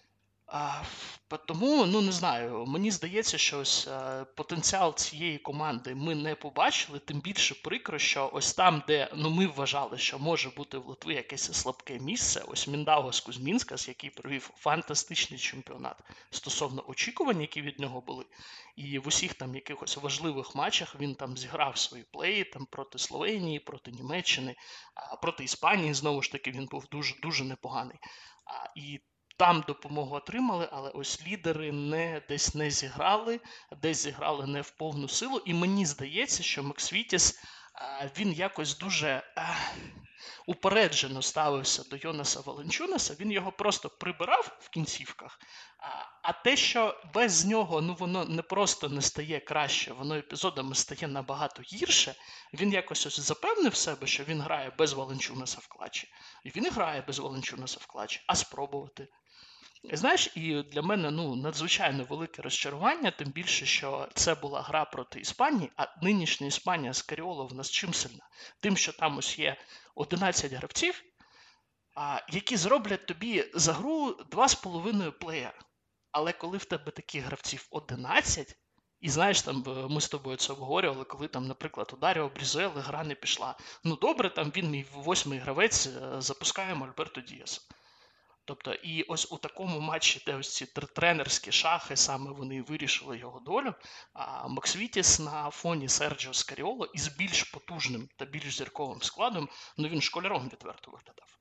А, по- Тому, ну не знаю, мені здається, що ось е, потенціал цієї команди ми не побачили, тим більше прикро, що ось там, де ну ми вважали, що може бути в Литві якесь слабке місце, ось Міндаугас Кузьмінскас, який провів фантастичний чемпіонат стосовно очікувань, які від нього були, і в усіх там якихось важливих матчах він там зіграв свої плеї там проти Словенії, проти Німеччини, а проти Іспанії знову ж таки він був дуже дуже непоганий. А, І там допомогу отримали, але ось лідери не десь не зіграли, десь зіграли не в повну силу. І мені здається, що Максвітіс а, він якось дуже а, упереджено ставився до Йонаса Валенчунаса, він його просто прибирав в кінцівках. А, а те, що без нього ну воно не просто не стає краще, воно епізодами стає набагато гірше. Він якось ось запевнив себе, що він грає без Валенчунаса в клатчі. І він і грає без Валенчунаса в клатчі. А спробувати. Знаєш, і для мене ну, надзвичайно велике розчарування, тим більше, що це була гра проти Іспанії, а нинішня Іспанія з Каріоло в нас чим сильна? Тим, що там ось є одинадцять гравців, а, які зроблять тобі за гру два з половиною плеєра. Але коли в тебе таких гравців одинадцять, і знаєш, там е, ми з тобою це обговорювали, коли там, наприклад, у Даріо Брізуели гра не пішла. Ну добре, там він мій восьмий гравець, е, запускаємо Альберто Діаса. Тобто, і ось у такому матчі, де ось ці тренерські шахи, саме вони вирішили його долю, а Максвітіс на фоні Серджіо Скаріоло із більш потужним та більш зірковим складом, ну він школяром відверто виглядав.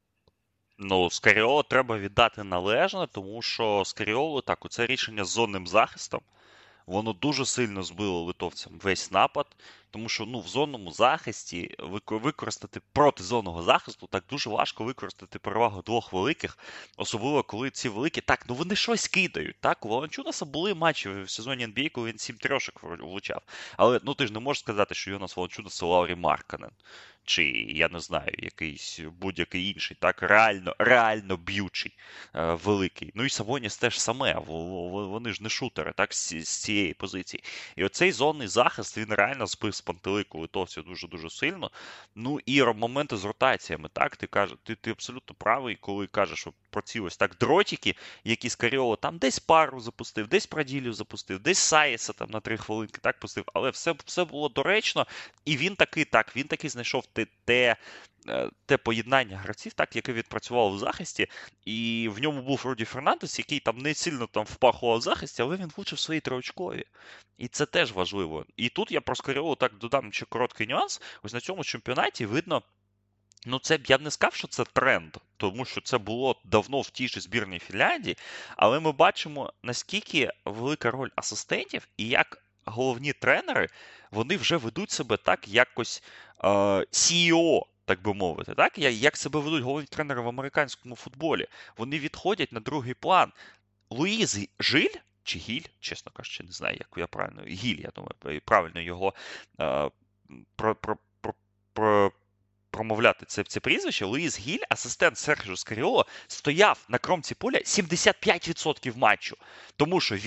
Ну, Скаріоло треба віддати належне, тому що Скаріоло, так, оце рішення з зонним захистом, воно дуже сильно збило литовцям весь напад, тому що ну, в зонному захисті використати проти зонного захисту так дуже важко використати перевагу двох великих, особливо коли ці великі, так, ну вони щось кидають. Так, у Валанчунаса були матчі в сезоні ен бі ей, коли він сім трьошок влучав. Але ну ти ж не можеш сказати, що Йонас Валанчунас це Лаурі Маркканен. Чи, я не знаю, якийсь будь-який інший, так, реально, реально б'ючий, е, великий. Ну і Сабоніс теж саме, вони ж не шутери, так, з, з цієї позиції. І оцей зонний захист, він реально збив з пантелику литовців дуже-дуже сильно. Ну і моменти з ротаціями, так, ти кажеш, ти, ти абсолютно правий, коли кажеш що про ці ось так дротики, які Скаріоло там десь пару запустив, десь Праділю запустив, десь Саєса там на три хвилинки так пустив, але все, все було доречно, і він таки, так, він таки знайшов те, те, те поєднання гравців, так, яке відпрацювало в захисті, і в ньому був Руді Фернандес, який там не сильно там впахував в захисті, але він влучив свої триочкові. І це теж важливо. І тут я про Скаріоло так додам ще короткий нюанс. Ось на цьому чемпіонаті видно, ну це я б не сказав, що це тренд, тому що це було давно в тій же збірній Фінляндії, але ми бачимо, наскільки велика роль асистентів і як головні тренери, вони вже ведуть себе так якось е, сі і о, так би мовити, так? Як себе ведуть головні тренери в американському футболі. Вони відходять на другий план. Луїз Жиль, чи Гіль, чесно кажучи, не знаю, як я правильно, Гіль, я думаю, правильно його е, про, про, про, про промовляти це, це прізвище, Луїс Гіль, асистент Серджіо Скаріоло, стояв на кромці поля сімдесят п'ять відсотків матчу, тому що він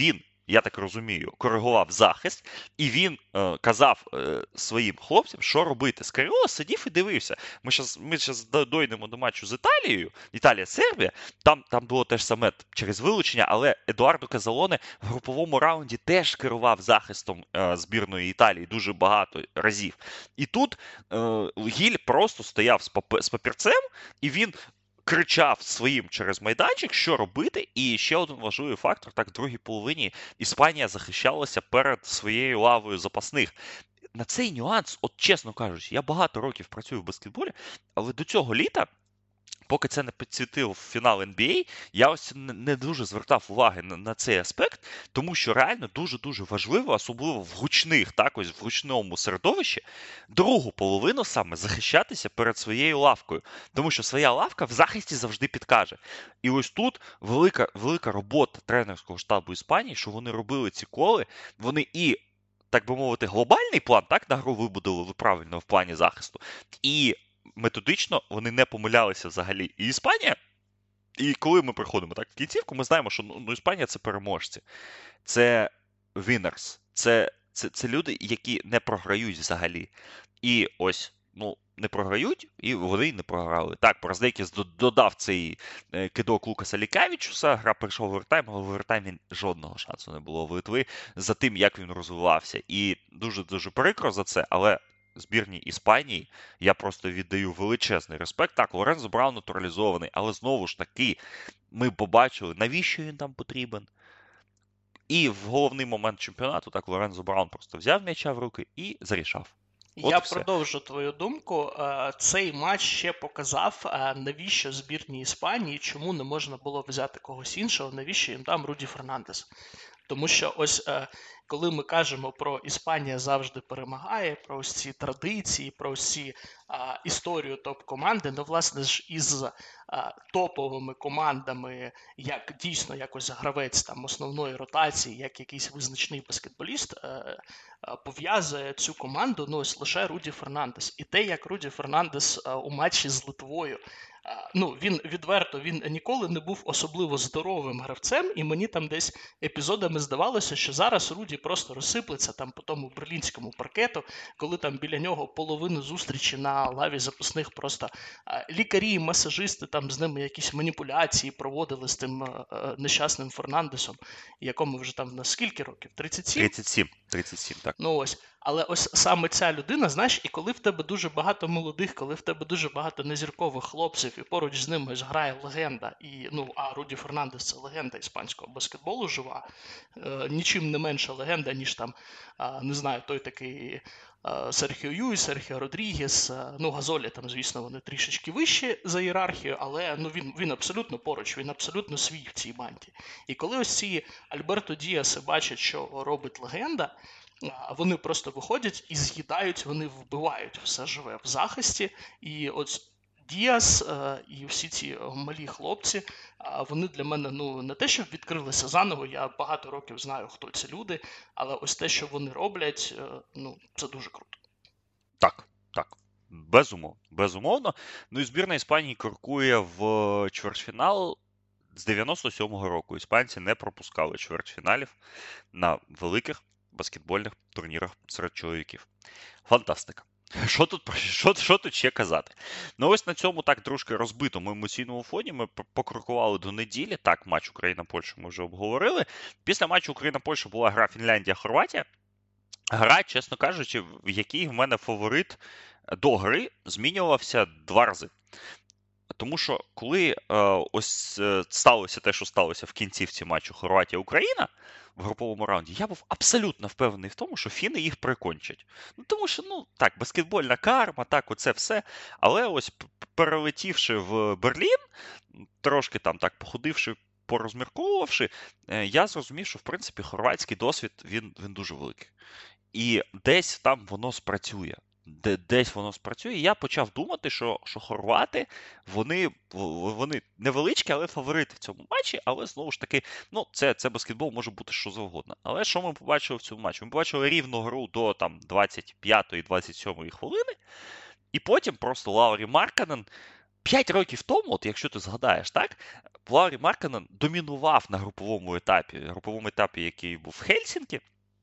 я так розумію, коригував захист, і він е, казав е, своїм хлопцям, що робити. Скаріола сидів і дивився. Ми зараз ми щас дойдемо до матчу з Італією, Італія-Сербія, там, там було теж саме через вилучення, але Едуардо Казалоне в груповому раунді теж керував захистом е, збірної Італії дуже багато разів. І тут е, Гіль просто стояв з, пап- з папірцем, і він кричав своїм через майданчик, що робити. І ще один важливий фактор, так в другій половині Іспанія захищалася перед своєю лавою запасних. На цей нюанс, от чесно кажучи, я багато років працюю в баскетболі, але до цього літа, поки це не підсвітив фінал ен бі ей, я ось не дуже звертав уваги на, на цей аспект, тому що реально дуже-дуже важливо, особливо в гучних, так ось в гучному середовищі, другу половину саме захищатися перед своєю лавкою. Тому що своя лавка в захисті завжди підкаже. І ось тут велика, велика робота тренерського штабу Іспанії, що вони робили ці коли, вони і, так би мовити, глобальний план, так, на гру вибудували правильно в плані захисту, і методично вони не помилялися взагалі. І Іспанія, і коли ми приходимо так в кінцівку, ми знаємо, що ну, Іспанія – це переможці. Це winners. Це, це, це люди, які не програють взагалі. І ось, ну, не програють, і вони й не програли. Так, Браздейкіс додав цей е, кидок Лукаса Лікавічуса, гра прийшов в овертайм, але в овертаймі жодного шансу не було в Литви за тим, як він розвивався. І дуже-дуже прикро за це, але збірній Іспанії я просто віддаю величезний респект. Так, Лорензо Браун натуралізований, але знову ж таки ми побачили, навіщо він там потрібен. І в головний момент чемпіонату так Лорензо Браун просто взяв м'яча в руки і зарішав. От Я і все. продовжу твою думку. Е, Цей матч ще показав, е, навіщо збірній Іспанії, чому не можна було взяти когось іншого, навіщо їм там Руді Фернандес. Тому що ось е, коли ми кажемо про Іспанія завжди перемагає, про ось ці традиції, про ось ці а, історію топ-команди, ну, власне ж, із а, топовими командами, як дійсно якось гравець там основної ротації, як якийсь визначний баскетболіст, е, е, пов'язує цю команду, ну, ось лише Руді Фернандес. І те, як Руді Фернандес е, у матчі з Литвою, ну, він відверто, він ніколи не був особливо здоровим гравцем, і мені там десь епізодами здавалося, що зараз Руді просто розсиплеться там по тому берлінському паркету, коли там біля нього половину зустрічі на лаві запасних просто лікарі, масажисти там з ними якісь маніпуляції проводили з тим нещасним Фернандесом, якому вже там на скільки років? тридцять сім? тридцять сім, тридцять сім, так. Ну ось. Але ось саме ця людина, знаєш, і коли в тебе дуже багато молодих, коли в тебе дуже багато незіркових хлопців, і поруч з ними ось грає легенда, і, ну, а Руді Фернандес – це легенда іспанського баскетболу жива, е, нічим не менша легенда, ніж там, е, не знаю, той такий е, Серхіо Юй, Серхіо Родрігес, е, ну, Газолі там, звісно, вони трішечки вищі за ієрархію, але, ну, він, він абсолютно поруч, він абсолютно свій в цій банді. І коли ось ці Альберто Діаси бачать, що робить легенда, вони просто виходять і з'їдають, вони вбивають все живе в захисті. І от Діас е, і всі ці малі хлопці, е, вони для мене, ну, не те, щоб відкрилися заново, я багато років знаю, хто ці люди, але ось те, що вони роблять, е, ну, це дуже круто. Так, так. Безумовно, безумовно. Ну і збірна Іспанії крокує в чвертьфінал. З дев'яносто сьомого року іспанці не пропускали чвертьфіналів на великих баскетбольних турнірах серед чоловіків. Фантастика. Що тут, що, що тут ще казати? Ну ось на цьому так трошки розбитому емоційному фоні ми покрокували до неділі. Так, матч Україна-Польща ми вже обговорили. Після матчу Україна-Польща була гра Фінляндія-Хорватія. Гра, чесно кажучи, в якій в мене фаворит до гри змінювався два рази. Тому що коли е, ось е, сталося те, що сталося в кінцівці матчу Хорватія-Україна в груповому раунді, я був абсолютно впевнений в тому, що фіни їх прикончать. Ну, тому що, ну, так, баскетбольна карма, так, оце все. Але ось перелетівши в Берлін, трошки там так походивши, порозмірковувавши, е, я зрозумів, що, в принципі, хорватський досвід, він, він дуже великий. І десь там воно спрацює. Де, десь воно спрацює, і я почав думати, що, що хорвати, вони, вони невеличкі, але фаворити в цьому матчі, але знову ж таки, ну, це, це баскетбол, може бути що завгодно. Але що ми побачили в цьому матчі? Ми побачили рівну гру до там двадцять п'ятої - двадцять сьомої хвилини, і потім просто Лаурі Маркканен п'ять років тому, от якщо ти згадаєш, так, Лаурі Маркканен домінував на груповому етапі, груповому етапі, який був в Хельсінкі,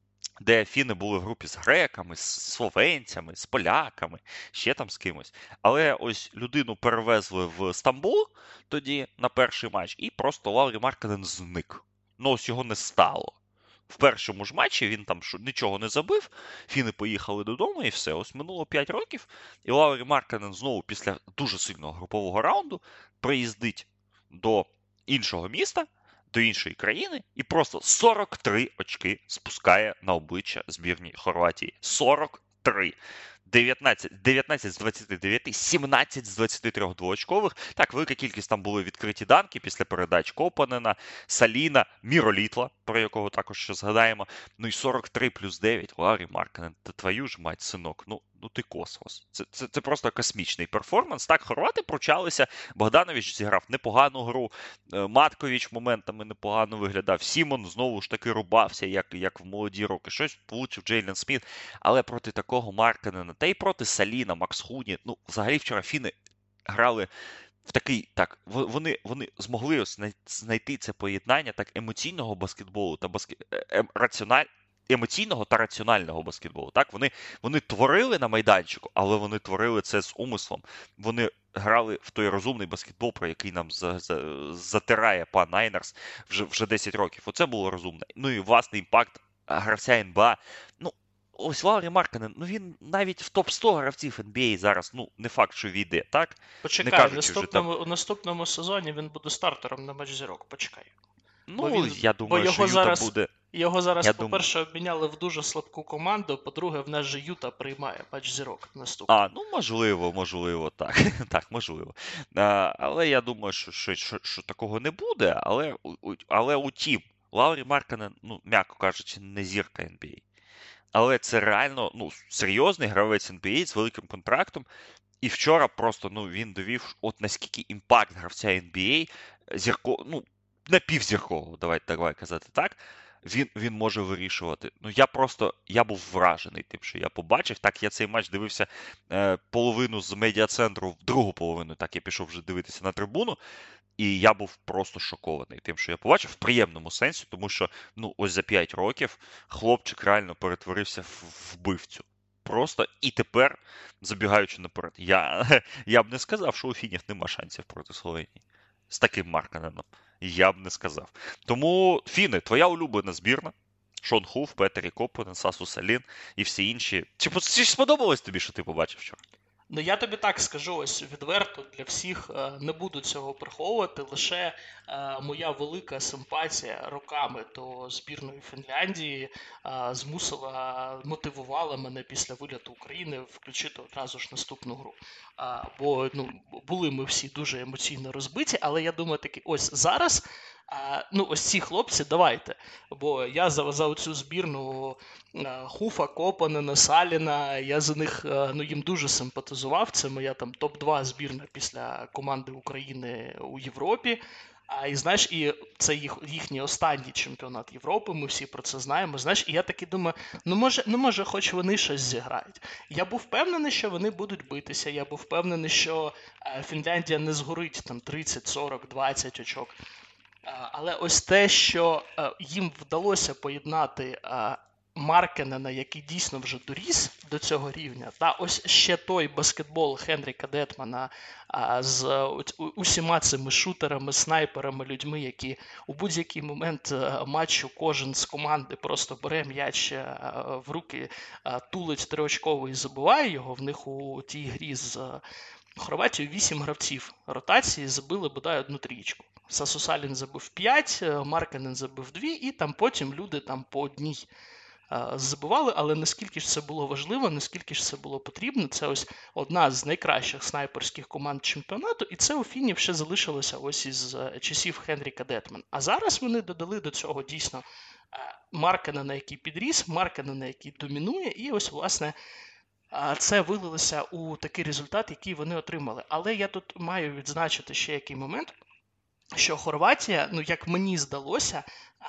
де фіни були в групі з греками, з словенцями, з поляками, ще там з кимось. Але ось людину перевезли в Стамбул тоді на перший матч, і просто Лаурі Маркканен зник. Ну ось його не стало. В першому ж матчі він там нічого не забив, фіни поїхали додому і все. Ось минуло п'ять років, і Лаурі Маркканен знову після дуже сильного групового раунду приїздить до іншого міста, до іншої країни і просто сорок три очки спускає на обличчя збірній Хорватії. сорок три. дев'ятнадцять, дев'ятнадцять з двадцяти дев'яти, сімнадцять з двадцяти трьох двоочкових. Так, велика кількість там були відкриті данки після передач Копанена, Саліна, Міролітла, про якого також ще згадаємо. Ну і сорок три плюс дев'ять. Лаурі Маркканен, та твою ж мать, синок, ну, ну ти космос. Це, це, це просто космічний перформанс. Так, хорвати пручалися, Богданович зіграв непогану гру, Матковіч моментами непогано виглядав, Сімон знову ж таки рубався, як, як в молоді роки. Щось влучив Джейлен Сміт, але проти такого Маркканена, та й проти Саліна, Макс Хуні, ну, взагалі вчора фіни грали в такий, так, вони, вони змогли знайти це поєднання так емоційного баскетболу та баскет... Ем, раціональ... емоційного та раціонального баскетболу. Так, вони, вони творили на майданчику, але вони творили це з умислом. Вони грали в той розумний баскетбол, про який нам за, за, затирає пан Найнерс вже, вже десять років. Оце було розумне. Ну і власний імпакт гравця ен бі ей. Ну, ось Лаурі Маркканен, ну він навіть в топ сто гравців ен бі ей зараз, ну, не факт, що війде, так? Почекай, в наступному, там... наступному сезоні він буде стартером на матч зірок, почекай. Ну, він, я думаю, що Юта зараз, буде... Його зараз, я по-перше, думаю... обміняли в дуже слабку команду, по-друге, в нас же Юта приймає матч зірок наступний. А, ну, можливо, можливо, так, так, можливо. А, але я думаю, що, що, що, що такого не буде, але, але утім, Лаурі Маркканен, ну, м'яко кажучи, не зірка ен бі ей. Але це реально, ну, серйозний гравець ен бі ей з великим контрактом. І вчора просто, ну, він довів, от наскільки імпакт гравця ен бі ей, зірко, ну, напівзіркового, давайте давай казати так, він, він може вирішувати. Ну, я просто, я був вражений тим, що я побачив. Так, я цей матч дивився е, половину з медіа-центру, в другу половину, так, я пішов вже дивитися на трибуну, і я був просто шокований тим, що я побачив, в приємному сенсі, тому що, ну, ось за п'ять років хлопчик реально перетворився в вбивцю. Просто і тепер, забігаючи наперед, я, я б не сказав, що у фінів нема шансів проти Словенії. З таким Маркканеном. Я б не сказав. Тому, фіни, твоя улюблена збірна. Шон Хуф, Петері Копанен, Сасу Салін і всі інші. Чи, чи сподобалось тобі, що ти побачив вчора? Ну, я тобі так скажу, ось відверто для всіх, не буду цього приховувати, лише моя велика симпатія роками до збірної Фінляндії змусила, мотивувала мене після виліту України включити одразу ж наступну гру. Бо, ну, були ми всі дуже емоційно розбиті, але я думаю, таки, ось зараз, ну, ось ці хлопці, давайте, бо я за, за цю збірну Хуфа, Копанена, Саліна, я за них, ну, їм дуже симпатизував, це моя там топ два збірна після команди України у Європі. А і знаєш, і це їх, їхній останній чемпіонат Європи, ми всі про це знаємо. Знаєш, і я таки думаю, ну може, ну може, хоч вони щось зіграють. Я був впевнений, що вони будуть битися. Я був впевнений, що е, Фінляндія не згорить там тридцять, сорок, двадцять очок. Е, але ось те, що е, їм вдалося поєднати е, Маркканена, який дійсно вже доріс до цього рівня, та ось ще той баскетбол Хенріка Детмана а, з у, усіма цими шутерами, снайперами, людьми, які у будь-який момент а, матчу кожен з команди просто бере м'яч а, в руки, а, тулить триочковий і забиває його. В них у тій грі з а, Хорватією вісім гравців ротації забили бодай одну трієчку. Сасу Салін забив п'ять, Маркканен забив дві, і там потім люди там по одній забивали, але наскільки ж це було важливо, наскільки ж це було потрібно, це ось одна з найкращих снайперських команд чемпіонату, і це у фінів ще залишилося ось із часів Хенріка Детмана. А зараз вони додали до цього дійсно Маркканена, який підріс, Маркканена, який домінує, і ось, власне, це вилилося у такий результат, який вони отримали. Але я тут маю відзначити ще який момент, що Хорватія, ну, як мені здалося,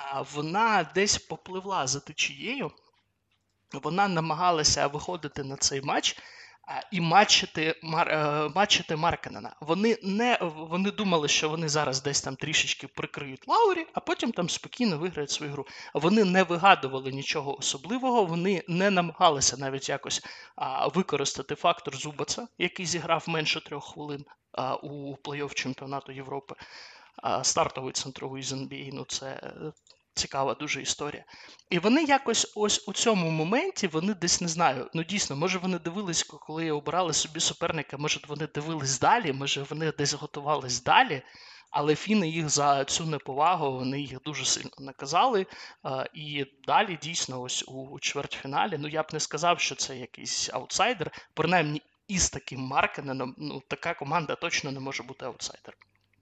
вона десь попливла за течією, вона намагалася виходити на цей матч і матчити, Мар, е, матчити Маркканена. Вони не вони думали, що вони зараз десь там трішечки прикриють Лаурі, а потім там спокійно виграють свою гру. Вони не вигадували нічого особливого, вони не намагалися навіть якось а, використати фактор Зубаца, який зіграв менше трьох хвилин а, у плей-офф чемпіонату Європи. А, стартовий центровий з ен бі ей, ну це цікава дуже історія. І вони якось ось у цьому моменті, вони десь, не знаю, ну дійсно, може вони дивились, коли обирали собі суперника, може вони дивились далі, може вони десь готувались далі, але фіни їх за цю неповагу, вони їх дуже сильно наказали. А, і далі дійсно ось у чвертьфіналі, ну я б не сказав, що це якийсь аутсайдер, принаймні із таким Маркканеном, ну така команда точно не може бути аутсайдером.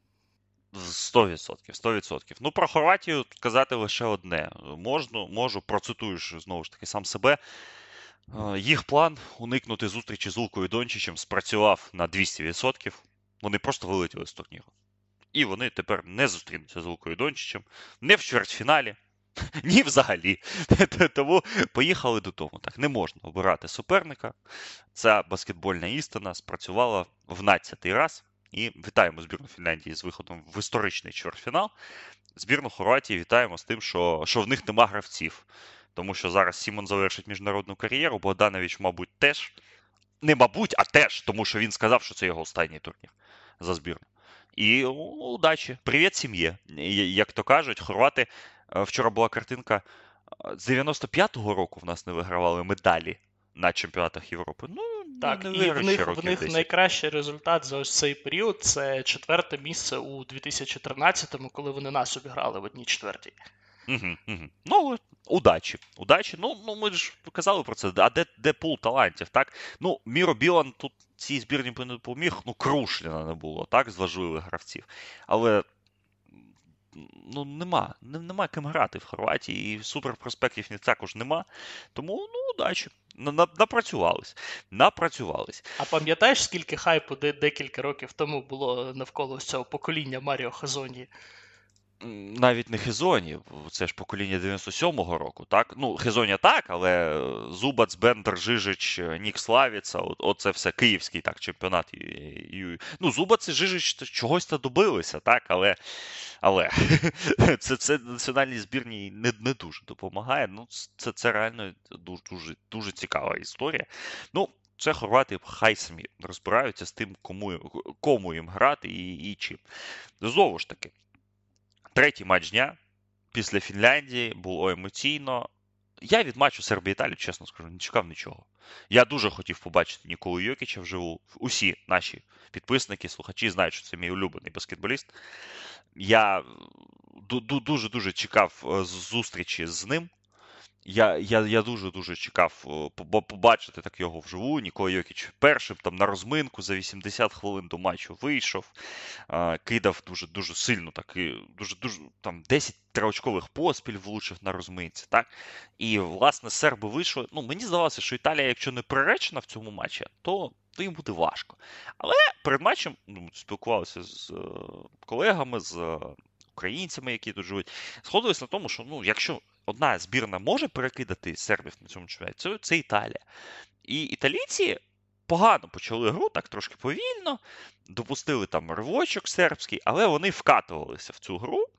сто відсотків, сто відсотків. Ну, про Хорватію сказати лише одне. Можну, можу, процитуєш знову ж таки сам себе. Їх план уникнути зустрічі з Лукою Дончичем спрацював на двісті відсотків. Вони просто вилетіли з турніру. І вони тепер не зустрінуться з Лукою Дончичем, не в чвертьфіналі, ні взагалі. Тому поїхали додому. Так, не можна обирати суперника. Ця баскетбольна істина спрацювала в надцятий раз. І вітаємо збірну Фінляндії з виходом в історичний чвертьфінал. Збірну Хорватії вітаємо з тим, що, що в них нема гравців. Тому що зараз Сімон завершить міжнародну кар'єру, Богданович, мабуть, теж. Не мабуть, а теж, тому що він сказав, що це його останній турнір за збірну. І о, удачі. Привіт сім'ї. Як то кажуть, хорвати, вчора була картинка, з дев'яносто п'ятого року в нас не вигравали медалі на чемпіонатах Європи. Ну, так, не і в них, в них десять. найкращий результат за ось цей період – це четверте місце у дві тисячі тринадцятому, коли вони нас обіграли в одній четвертій. Угу, угу. Ну, удачі. Удачі. Ну, ну, ми ж казали про це. А де, де пул талантів, так? Ну, Міро Білан тут цій збірні не допоміг. Ну, Крушліна не було, так, з важливих гравців. Але ну, нема. Нема ким грати в Хорватії. І суперпроспектів ні також нема. Тому, ну, удачі. Напрацювались. Напрацювались. А пам'ятаєш, скільки хайпу декілька років тому було навколо цього покоління Маріо Хезоньї? Навіть не Хезоні, це ж покоління дев'яносто сьомого року, так? Ну, Хезоня так, але Зубац, Бендер, Жижич, Нік Славіца, оце все київський так, чемпіонат. Ну, Зубац і Жижич чогось-то добилися, так, але, але це, це національній збірній не, не дуже допомагає. Ну, це, це реально дуже, дуже, дуже цікава історія. Ну, це хорвати хай самі розбираються з тим, кому, кому їм грати і, і чим. Знову ж таки, третій матч дня після Фінляндії було емоційно. Я від матчу Сербія-Італія, чесно скажу, не чекав нічого. Я дуже хотів побачити Ніколу Йокіча вживу. Усі наші підписники, слухачі знають, що це мій улюблений баскетболіст. Я дуже-дуже чекав зустрічі з ним. Я, я, я дуже-дуже чекав побачити так його вживу. Нікола Йокіч першим там на розминку за вісімдесят хвилин до матчу вийшов, кидав дуже-дуже сильно, так, і дуже-дуже там десять триочкових поспіль влучив на розминці, так? І, власне, серби вийшли. Ну, мені здавалося, що Італія, якщо не приречена в цьому матчі, то, то їм буде важко. Але перед матчем, ну, спілкувалися з колегами, з українцями, які тут живуть, сходились на тому, що, ну, якщо одна збірна може перекидати сербів на цьому чемпіонаті, це, це Італія. І італійці погано почали гру, так трошки повільно, допустили там ривочок сербський, але вони вкатувалися в цю гру,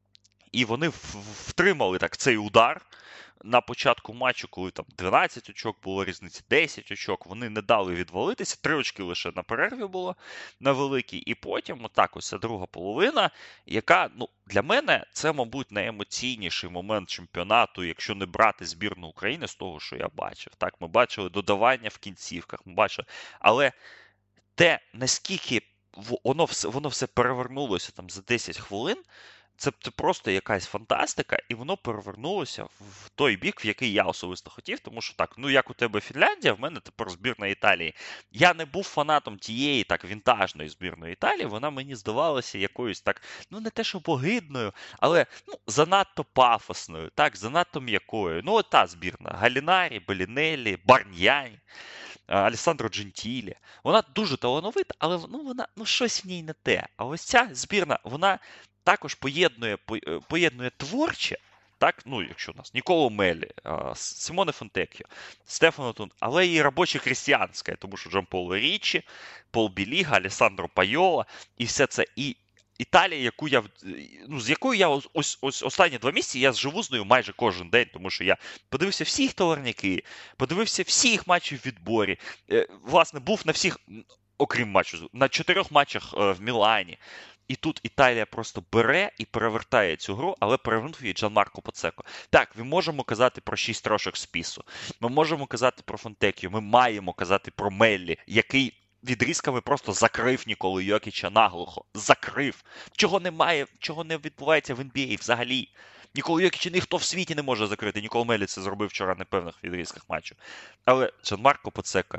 і вони втримали так цей удар на початку матчу, коли там дванадцять очок було різниці, десять очок, вони не дали відвалитися, три очки лише на перерві було на великій, і потім отак ось друга половина, яка, ну, для мене це, мабуть, найемоційніший момент чемпіонату, якщо не брати збірну України з того, що я бачив. Так, ми бачили додавання в кінцівках, ми бачили, але те, наскільки воно все, воно все перевернулося там за десять хвилин, Це, це просто якась фантастика, і воно перевернулося в той бік, в який я особисто хотів, тому що так, ну як у тебе Фінляндія, в мене тепер збірна Італії. Я не був фанатом тієї так вінтажної збірної Італії, вона мені здавалася якоюсь так, ну не те, що огидною, але ну, занадто пафосною, так, занадто м'якою. Ну от та збірна, Галінарі, Белінеллі, Барньяні, Алессандро Джентілі. Вона дуже талановита, але ну, вона, ну, щось в ній не те. А ось ця збірна, вона також поєднує, поєднує творче, так, ну, якщо у нас Ніколо Мелі, Симоне Фонтекіо, Стефано Тун, але і робоче крестьянське, тому що Джанполо Річчі, Пол Біліга, Алессандро Пайола, і все це. І Італія, яку я, ну, з якою я ось, ось, ось останні два місяці, я живу з нею майже кожен день, тому що я подивився всі їх товарняки, подивився всі їх матчі в відборі, власне, був на всіх, окрім матчу, на чотирьох матчах в Мілані. І тут Італія просто бере і перевертає цю гру, але перевернув її Джанмарко Поцеко. Так, ми можемо казати про шість трошок з пісу, ми можемо казати про Фонтекіо, ми маємо казати про Меллі, який відрізками просто закрив Ніколу Йокіча наглухо. Закрив. Чого немає, чого не відбувається в ен бі ей взагалі. Ніколу Йокіча ніхто в світі не може закрити. Ніколо Меллі це зробив вчора на певних відрізках матчу. Але Джанмарко Поцеко,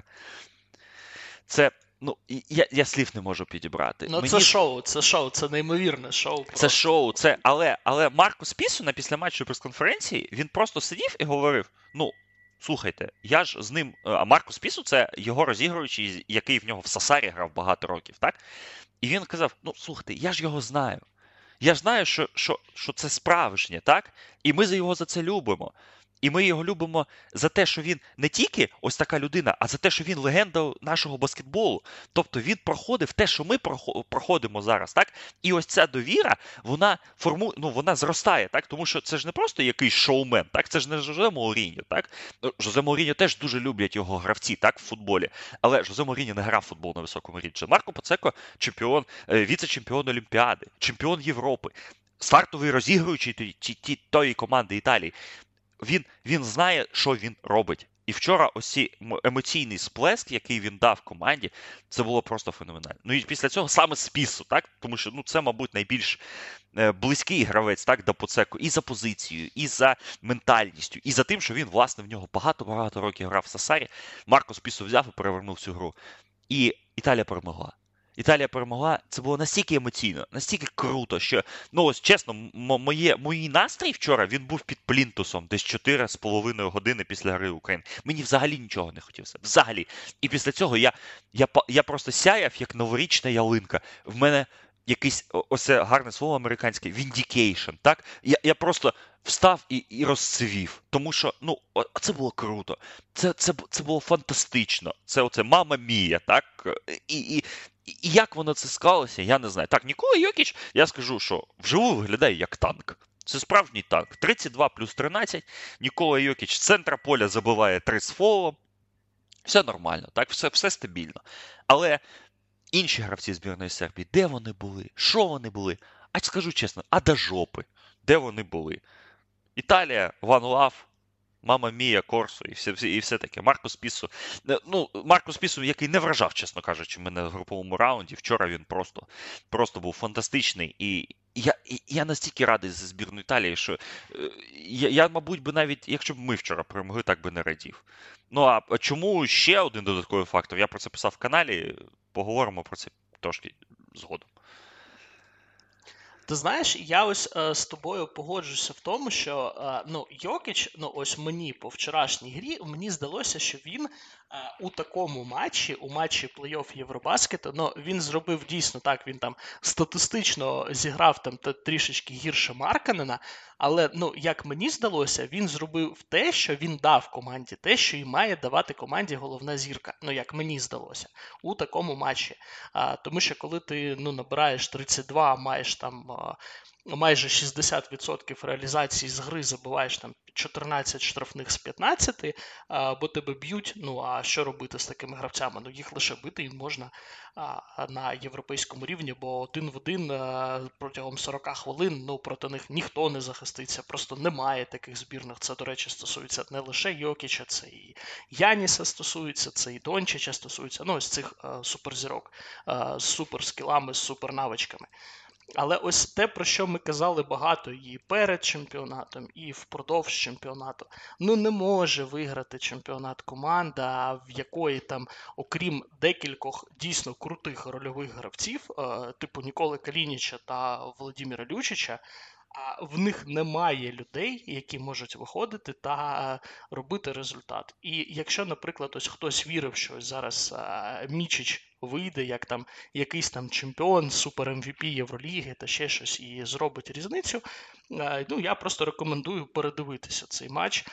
це, ну, я, я слів не можу підібрати. Ну, Мені... це шоу, це шоу, це неймовірне шоу. Просто. Це шоу, це, але, але Маркус Пісу на післяматчевій прес-конференції, він просто сидів і говорив, ну, слухайте, я ж з ним, а Маркус Пісу це його розігруючий, який в нього в Сасарі грав багато років, так? І він казав, ну, слухайте, я ж його знаю. Я ж знаю, що, що, що це справжнє, так? І ми за його за це любимо. І ми його любимо за те, що він не тільки ось така людина, а за те, що він легенда нашого баскетболу. Тобто він проходив те, що ми проходимо зараз, так? І ось ця довіра, вона формує, ну, вона зростає, так? Тому що це ж не просто якийсь шоумен, так? Це ж не Жозе Моуріньо, так? Жозе Моуріньо теж дуже люблять його гравці, так, в футболі. Але Жозе Моуріньо не грав в футбол на високому рівні. Марко Поцеко – чемпіон, віце-чемпіон Олімпіади, чемпіон Європи, стартовий розігруючий тієї команди Італії. Він, він знає, що він робить. І вчора ось цей емоційний сплеск, який він дав команді, це було просто феноменально. Ну і після цього саме з Пісу, так? Тому що, ну, це, мабуть, найбільш близький гравець, так, до Поцеко і за позицією, і за ментальністю, і за тим, що він, власне, в нього багато-багато років грав в Сасарі. Маркус Пісу взяв і перевернув цю гру. І Італія перемогла. Італія перемогла, це було настільки емоційно, настільки круто, що, ну ось чесно, моє, мій настрій вчора, він був під плінтусом десь чотири з половиною години після гри України. Мені взагалі нічого не хотілося, взагалі. І після цього я, я, я просто сяяв, як новорічна ялинка. В мене якийсь, ось це гарне слово американське, vindication, так? Я, я просто встав і, і розцвів, тому що, ну, це було круто, це, це, це було фантастично, це оце мама мія, так? І, і, і як воно це склалося, я не знаю. Так, Нікола Йокіч, я скажу, що вживу виглядає як танк. Це справжній танк. тридцять два плюс тринадцять, Нікола Йокіч з центра поля забиває три з фолом. Все нормально, так, все, все стабільно. Але інші гравці збірної Сербії, де вони були? Що вони були? А скажу чесно, а до жопи, де вони були? Італія, One Love, Мама Мія, Корсо і все, і все таке. Маркус Пісу, ну, Маркус Пісу, який не вражав, чесно кажучи, мене в груповому раунді. Вчора він просто, просто був фантастичний. І я, і я настільки радий за збірну Італії, що я, я, мабуть, би навіть, якщо б ми вчора перемогли, так би не радів. Ну, а чому ще один додатковий фактор? Я про це писав в каналі, поговоримо про це трошки згодом. Ти знаєш, я ось е, з тобою погоджуюся в тому, що е, ну, Йокіч, ну ось мені по вчорашній грі, мені здалося, що він е, у такому матчі, у матчі плей-офф Євробаскету, ну, він зробив дійсно так, він там статистично зіграв там трішечки гірше Маркканена, але, ну, як мені здалося, він зробив те, що він дав команді, те, що і має давати команді головна зірка, ну, як мені здалося, у такому матчі. А, тому що коли ти, ну, набираєш тридцять два, маєш там а, майже шістдесят відсотків реалізації з гри, забиваєш там чотирнадцять штрафних з п'ятнадцяти, а, бо тебе б'ють, ну, а що робити з такими гравцями? Ну, їх лише бити їм можна а, на європейському рівні, бо один в один а, протягом сорок хвилин, ну, проти них ніхто не захиститься, просто немає таких збірних. Це, до речі, стосується не лише Йокіча, це і Яніса стосується, це і Дончича стосується, ну, ось цих а, суперзірок а, з суперскілами, з супернавичками. Але ось те, про що ми казали багато і перед чемпіонатом, і впродовж чемпіонату, ну не може виграти чемпіонат команда, в якої там, окрім декількох дійсно крутих рольових гравців, типу Ніколи Калініча та Володимира Лючича, а в них немає людей, які можуть виходити та робити результат. І якщо, наприклад, ось хтось вірив, що зараз Мічич вийде як там якийсь там чемпіон, супер ем ві пі Євроліги та ще щось і зробить різницю. Ну, я просто рекомендую передивитися цей матч,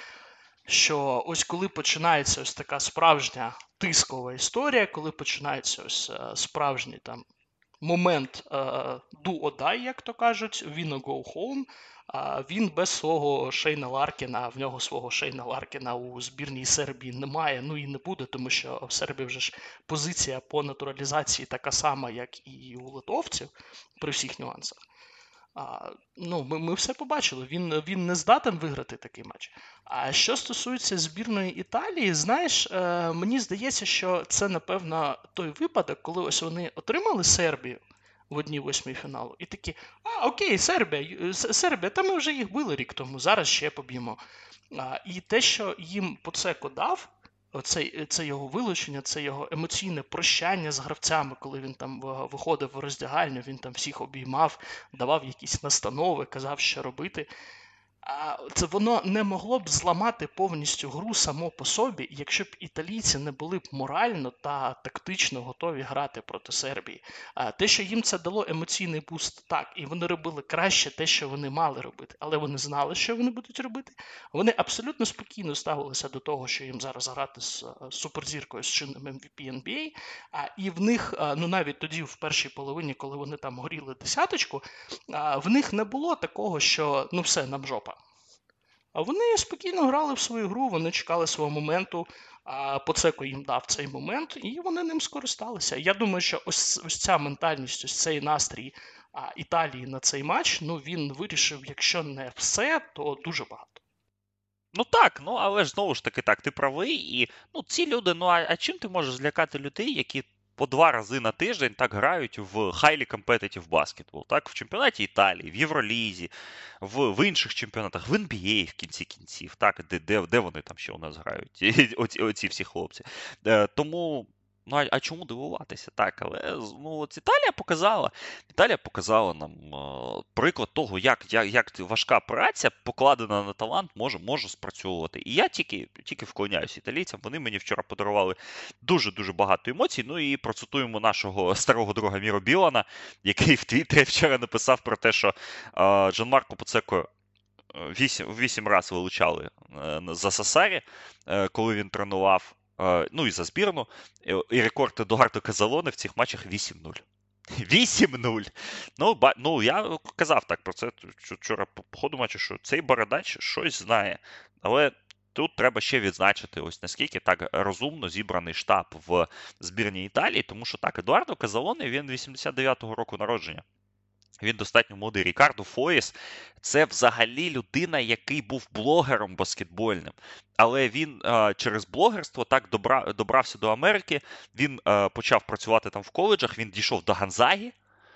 що ось коли починається ось така справжня тискова історія, коли починається ось справжній там момент uh, do or die, як то кажуть, win or go home, uh, він без свого Шейна Ларкіна, в нього свого Шейна Ларкіна у збірній Сербії немає, ну і не буде, тому що в Сербії вже ж позиція по натуралізації така сама, як і у литовців, при всіх нюансах. А, ну, ми, ми все побачили, він, він не здатен виграти такий матч. А що стосується збірної Італії, знаєш, е, мені здається, що це, напевно, той випадок, коли ось вони отримали Сербію в одній восьмій фіналу, і такі, а, окей, Сербія, Сербія, та ми вже їх били рік тому, зараз ще поб'ємо. А, і те, що їм Поцеко дав, Оце, це його вилучення, це його емоційне прощання з гравцями, коли він там виходив в роздягальню, він там всіх обіймав, давав якісь настанови, казав, що робити. А це воно не могло б зламати повністю гру само по собі, якщо б італійці не були б морально та тактично готові грати проти Сербії. А те, що їм це дало емоційний буст, так, і вони робили краще те, що вони мали робити, але вони знали, що вони будуть робити. Вони абсолютно спокійно ставилися до того, що їм зараз грати з суперзіркою, з чинним ем ві пі ен бі ей, а, і в них, ну навіть тоді, в першій половині, коли вони там горіли десяточку, а, в них не було такого, що ну все, нам жопа. А вони спокійно грали в свою гру, вони чекали свого моменту, а Поцеко їм дав цей момент, і вони ним скористалися. Я думаю, що ось, ось ця ментальність, ось цей настрій а, Італії на цей матч, ну він вирішив, якщо не все, то дуже багато. Ну так, ну але ж знову ж таки так, ти правий, і ну ці люди, ну а, а чим ти можеш злякати людей, які по два рази на тиждень так грають в highly competitive basketball, так, в чемпіонаті Італії, в Євролізі, в, в інших чемпіонатах, в ен бі ей в кінці кінців, так, де, де, де вони там ще у нас грають, оці, оці всі хлопці. Е, тому, ну а, а чому дивуватися? Так, але ну, от Італія показала, Італія показала нам е, приклад того, як, як, як важка праця, покладена на талант, може, може спрацьовувати. І я тільки, тільки вклоняюсь італійцям, вони мені вчора подарували дуже-дуже багато емоцій. Ну і процитуємо нашого старого друга Міро Білана, який в Твіттері вчора написав про те, що е, Джанмарко Поцеко вісім, вісім разів вилучали е, за Сасарі, е, коли він тренував. Ну і за збірну, і рекорд Едуардо Казалоне в цих матчах вісім нуль. вісім нуль. Ну, ба, ну, я казав так про це вчора по ходу матчу, що цей бородач щось знає. Але тут треба ще відзначити, ось наскільки так розумно зібраний штаб в збірній Італії, тому що так, Едуардо Казалоне, він вісімдесят дев'ятого року народження. Він достатньо молодий. Рікардо Фоєс – це взагалі людина, який був блогером баскетбольним. Але він а, через блогерство так добра, добрався до Америки, він а, почав працювати там в коледжах, він дійшов до Гонзагі.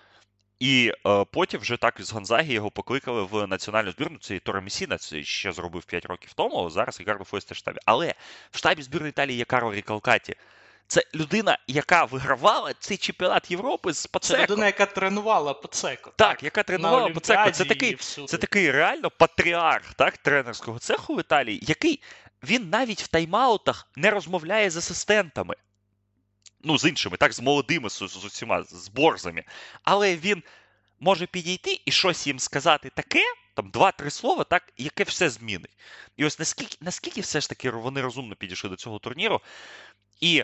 І а, потім вже так з Гонзагі його покликали в національну збірну. Це і Торе Месіна, це ще зробив п'ять років тому, а зараз Рікардо Фоєс теж в штабі. Але в штабі збірної Італії є Карло Рікалкаті. Це людина, яка вигравала цей чемпіонат Європи з Поцеко. Це людина, яка тренувала Поцеко. Так, так, яка тренувала Поцеко. Це такий, це такий реально патріарх, так, тренерського цеху в Італії, який, він навіть в тайм-аутах не розмовляє з асистентами. Ну, з іншими, так, з молодими, з, з усіма, з борзами. Але він може підійти і щось їм сказати таке, там два-три слова, так, яке все змінить. І ось наскільки, наскільки все ж таки вони розумно підійшли до цього турніру. І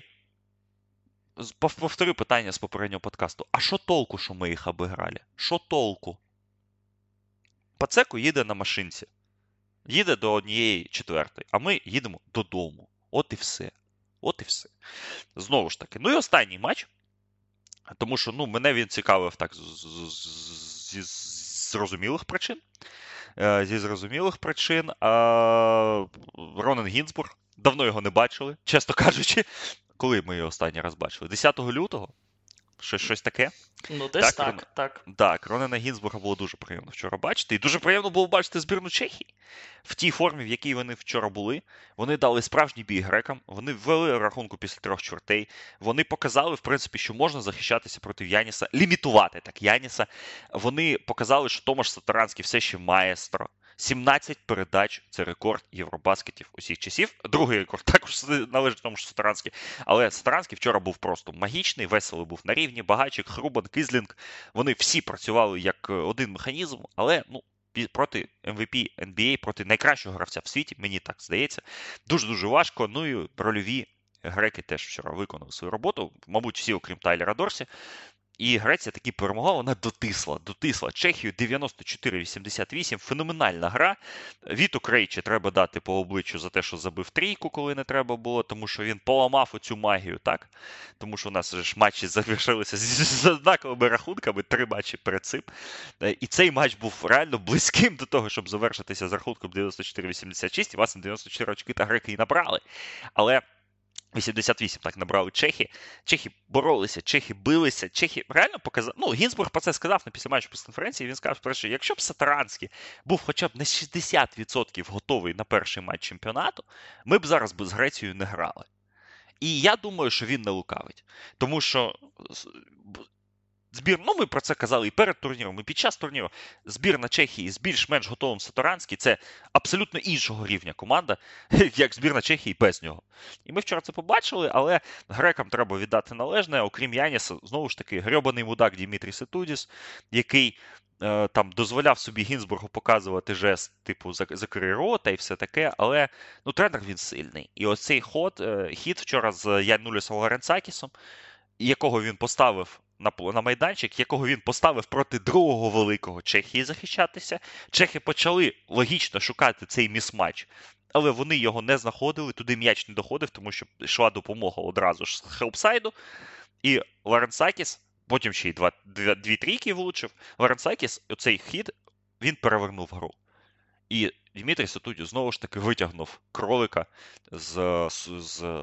повторю питання з попереднього подкасту. А що толку, що ми їх обіграли? Що толку? Поцеко їде на машинці. Їде до однієї четвертої. А ми їдемо додому. От і все. От і все. Знову ж таки. Ну і останній матч. Тому що, ну, мене він цікавив так зі зрозумілих причин. Зі зрозумілих причин. Ронан Гінзбург. Давно його не бачили, чесно кажучи. Коли ми його останній раз бачили? десятого лютого? Щось, щось таке? Ну, десь так, так. Так, так Ронана Гінзбурга було дуже приємно вчора бачити. І дуже приємно було бачити збірну Чехії. В тій формі, в якій вони вчора були. Вони дали справжній бій грекам. Вони ввели рахунку після трьох чвертей. Вони показали, в принципі, що можна захищатися проти Яніса. Лімітувати так Яніса. Вони показали, що Томаш Сатаранський все ще маестро. сімнадцять передач – це рекорд Євробаскетів усіх часів. Другий рекорд також належить тому, що Сатаранський. Але Сатаранський вчора був просто магічний, Веселий був на рівні, Багачик, Хрубан, Кизлінг. Вони всі працювали як один механізм, але, ну, проти ем ві пі ен бі ей, проти найкращого гравця в світі, мені так здається, дуже-дуже важко. Ну і рольові греки теж вчора виконали свою роботу, мабуть, всі, окрім Тайлера Дорсі. І Греція таки перемогла, вона дотисла, дотисла Чехію дев'яносто чотири вісімдесят вісім. Феноменальна гра. Віту Крейчі треба дати по обличчю за те, що забив трійку, коли не треба було, тому що він поламав оцю магію, так? Тому що у нас ж матчі завершилися з однаковими рахунками, три матчі перед цим. І цей матч був реально близьким до того, щоб завершитися з рахунком дев'яносто чотири вісімдесят шість, і власне дев'яносто чотири очки та греки і набрали. Але вісімдесят вісім так набрали чехи. Чехи боролися, чехи билися, чехи реально показали. Ну, Гінзбург про це сказав на після матчу прес-конференції. Він сказав, що якщо б Сатаранський був хоча б на шістдесят відсотків готовий на перший матч чемпіонату, ми б зараз з Грецією не грали. І я думаю, що він не лукавить. Тому що збір, ну ми про це казали і перед турніром, і під час турніру. Збірна Чехії з більш-менш готовим Сатаранський – це абсолютно іншого рівня команда, як збірна Чехії без нього. І ми вчора це побачили, але грекам треба віддати належне. Окрім Яніса, знову ж таки, грьобаний мудак Дімітрій Ситудіс, який е, там дозволяв собі Гінзбургу показувати жест, типу, закрий рота і все таке, але ну, тренер він сильний. І оцей ход, е, хід вчора з Янулісом Ларенцакісом, якого він поставив на, на майданчик, якого він поставив проти другого великого Чехії захищатися. Чехи почали логічно шукати цей місматч, але вони його не знаходили, туди м'яч не доходив, тому що йшла допомога одразу ж з хелпсайду. І Ларенцакіс, потім ще й два, дві, дві трійки влучив, Ларенцакіс, оцей хід, він перевернув гру. І Дмитрій Сатудіс знову ж таки витягнув кролика з, з, з,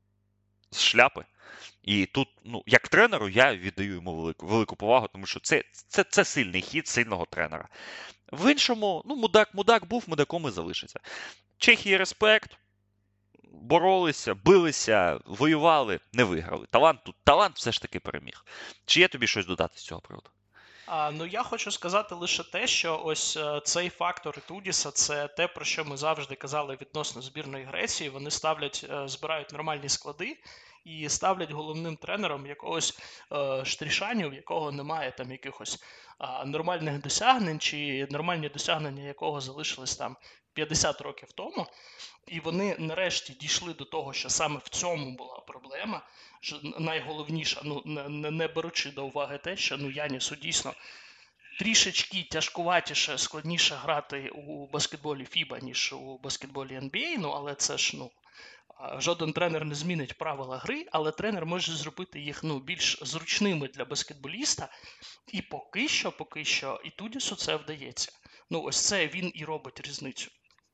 з шляпи. І тут, ну, як тренеру, я віддаю йому велику, велику повагу, тому що це, це, це сильний хід сильного тренера. В іншому, ну, мудак, мудак був, мудаком і залишиться. Чехії респект, боролися, билися, воювали, не виграли. Талант тут, талант все ж таки переміг. Чи є тобі щось додати з цього приводу? А, ну, я хочу сказати лише те, що ось е, цей фактор Ітудіса – це те, про що ми завжди казали відносно збірної Греції. Вони ставлять, е, збирають нормальні склади і ставлять головним тренером якогось е, Штрішаню, в якого немає там якихось е, нормальних досягнень, чи нормальні досягнення якого залишились там п'ятдесят років тому. І вони нарешті дійшли до того, що саме в цьому була проблема. Що найголовніше, ну, не, не беручи до уваги те, що ну, Янісу дійсно трішечки тяжкуватіше, складніше грати у баскетболі фіба, ніж у баскетболі ен бі ей, ну, але це ж, ну, жоден тренер не змінить правила гри, але тренер може зробити їх, ну, більш зручними для баскетболіста, і поки що, поки що, і Ітудісу це вдається. Ну, ось це він і робить різницю.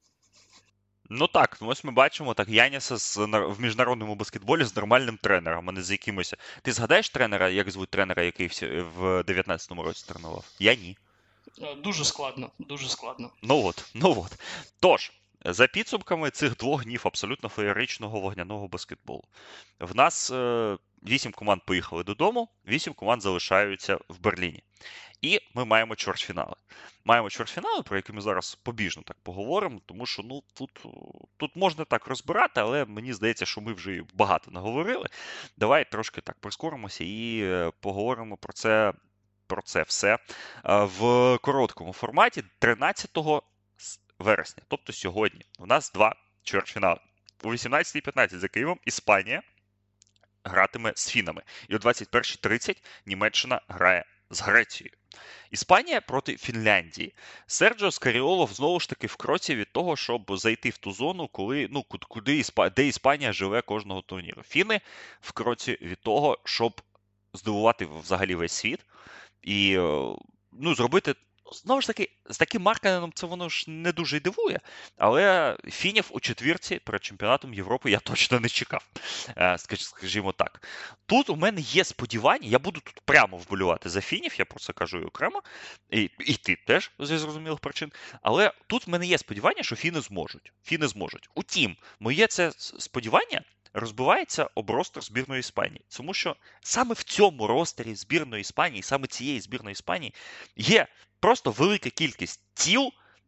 Ну так, ось ми бачимо так Яніса з, в міжнародному баскетболі з нормальним тренером, а не з якимось. Ти згадаєш тренера, як звуть тренера, який в дев'ятнадцятому році тренував? Я ні. Дуже складно, дуже складно. Ну от, ну от. Тож, за підсумками цих двох днів абсолютно феєричного вогняного баскетболу. В нас е, вісім команд поїхали додому, вісім команд залишаються в Берліні. І ми маємо чвертьфінали. Маємо чвертьфінали, про які ми зараз побіжно так поговоримо, тому що ну, тут, тут можна так розбирати, але мені здається, що ми вже багато наговорили. Давай трошки так прискоримося і поговоримо про це, про це все в короткому форматі тринадцятого вересня, тобто сьогодні. У нас два чвертьфінали. У вісімнадцятій п'ятнадцять за Києвом Іспанія гратиме з фінами. І о двадцять першій тридцять Німеччина грає з Грецією. Іспанія проти Фінляндії. Серджіо Скаріолов знову ж таки в кроці від того, щоб зайти в ту зону, коли, ну, куди Іспа... де Іспанія живе кожного турніру. Фіни в кроці від того, щоб здивувати взагалі весь світ і, ну, зробити. Знову ж таки, з таким Маркканеном це воно ж не дуже й дивує, але фінів у четвірці перед чемпіонатом Європи я точно не чекав, скажімо так. Тут у мене є сподівання, я буду тут прямо вболювати за фінів, я про це кажу і окремо, і, і ти теж зі зрозумілих причин, але тут в мене є сподівання, що фіни зможуть. Фіни зможуть. Утім, моє це сподівання розбивається об ростер збірної Іспанії. Тому що саме в цьому ростері збірної Іспанії, саме цієї збірної Іспанії, є просто велика кількість тіл,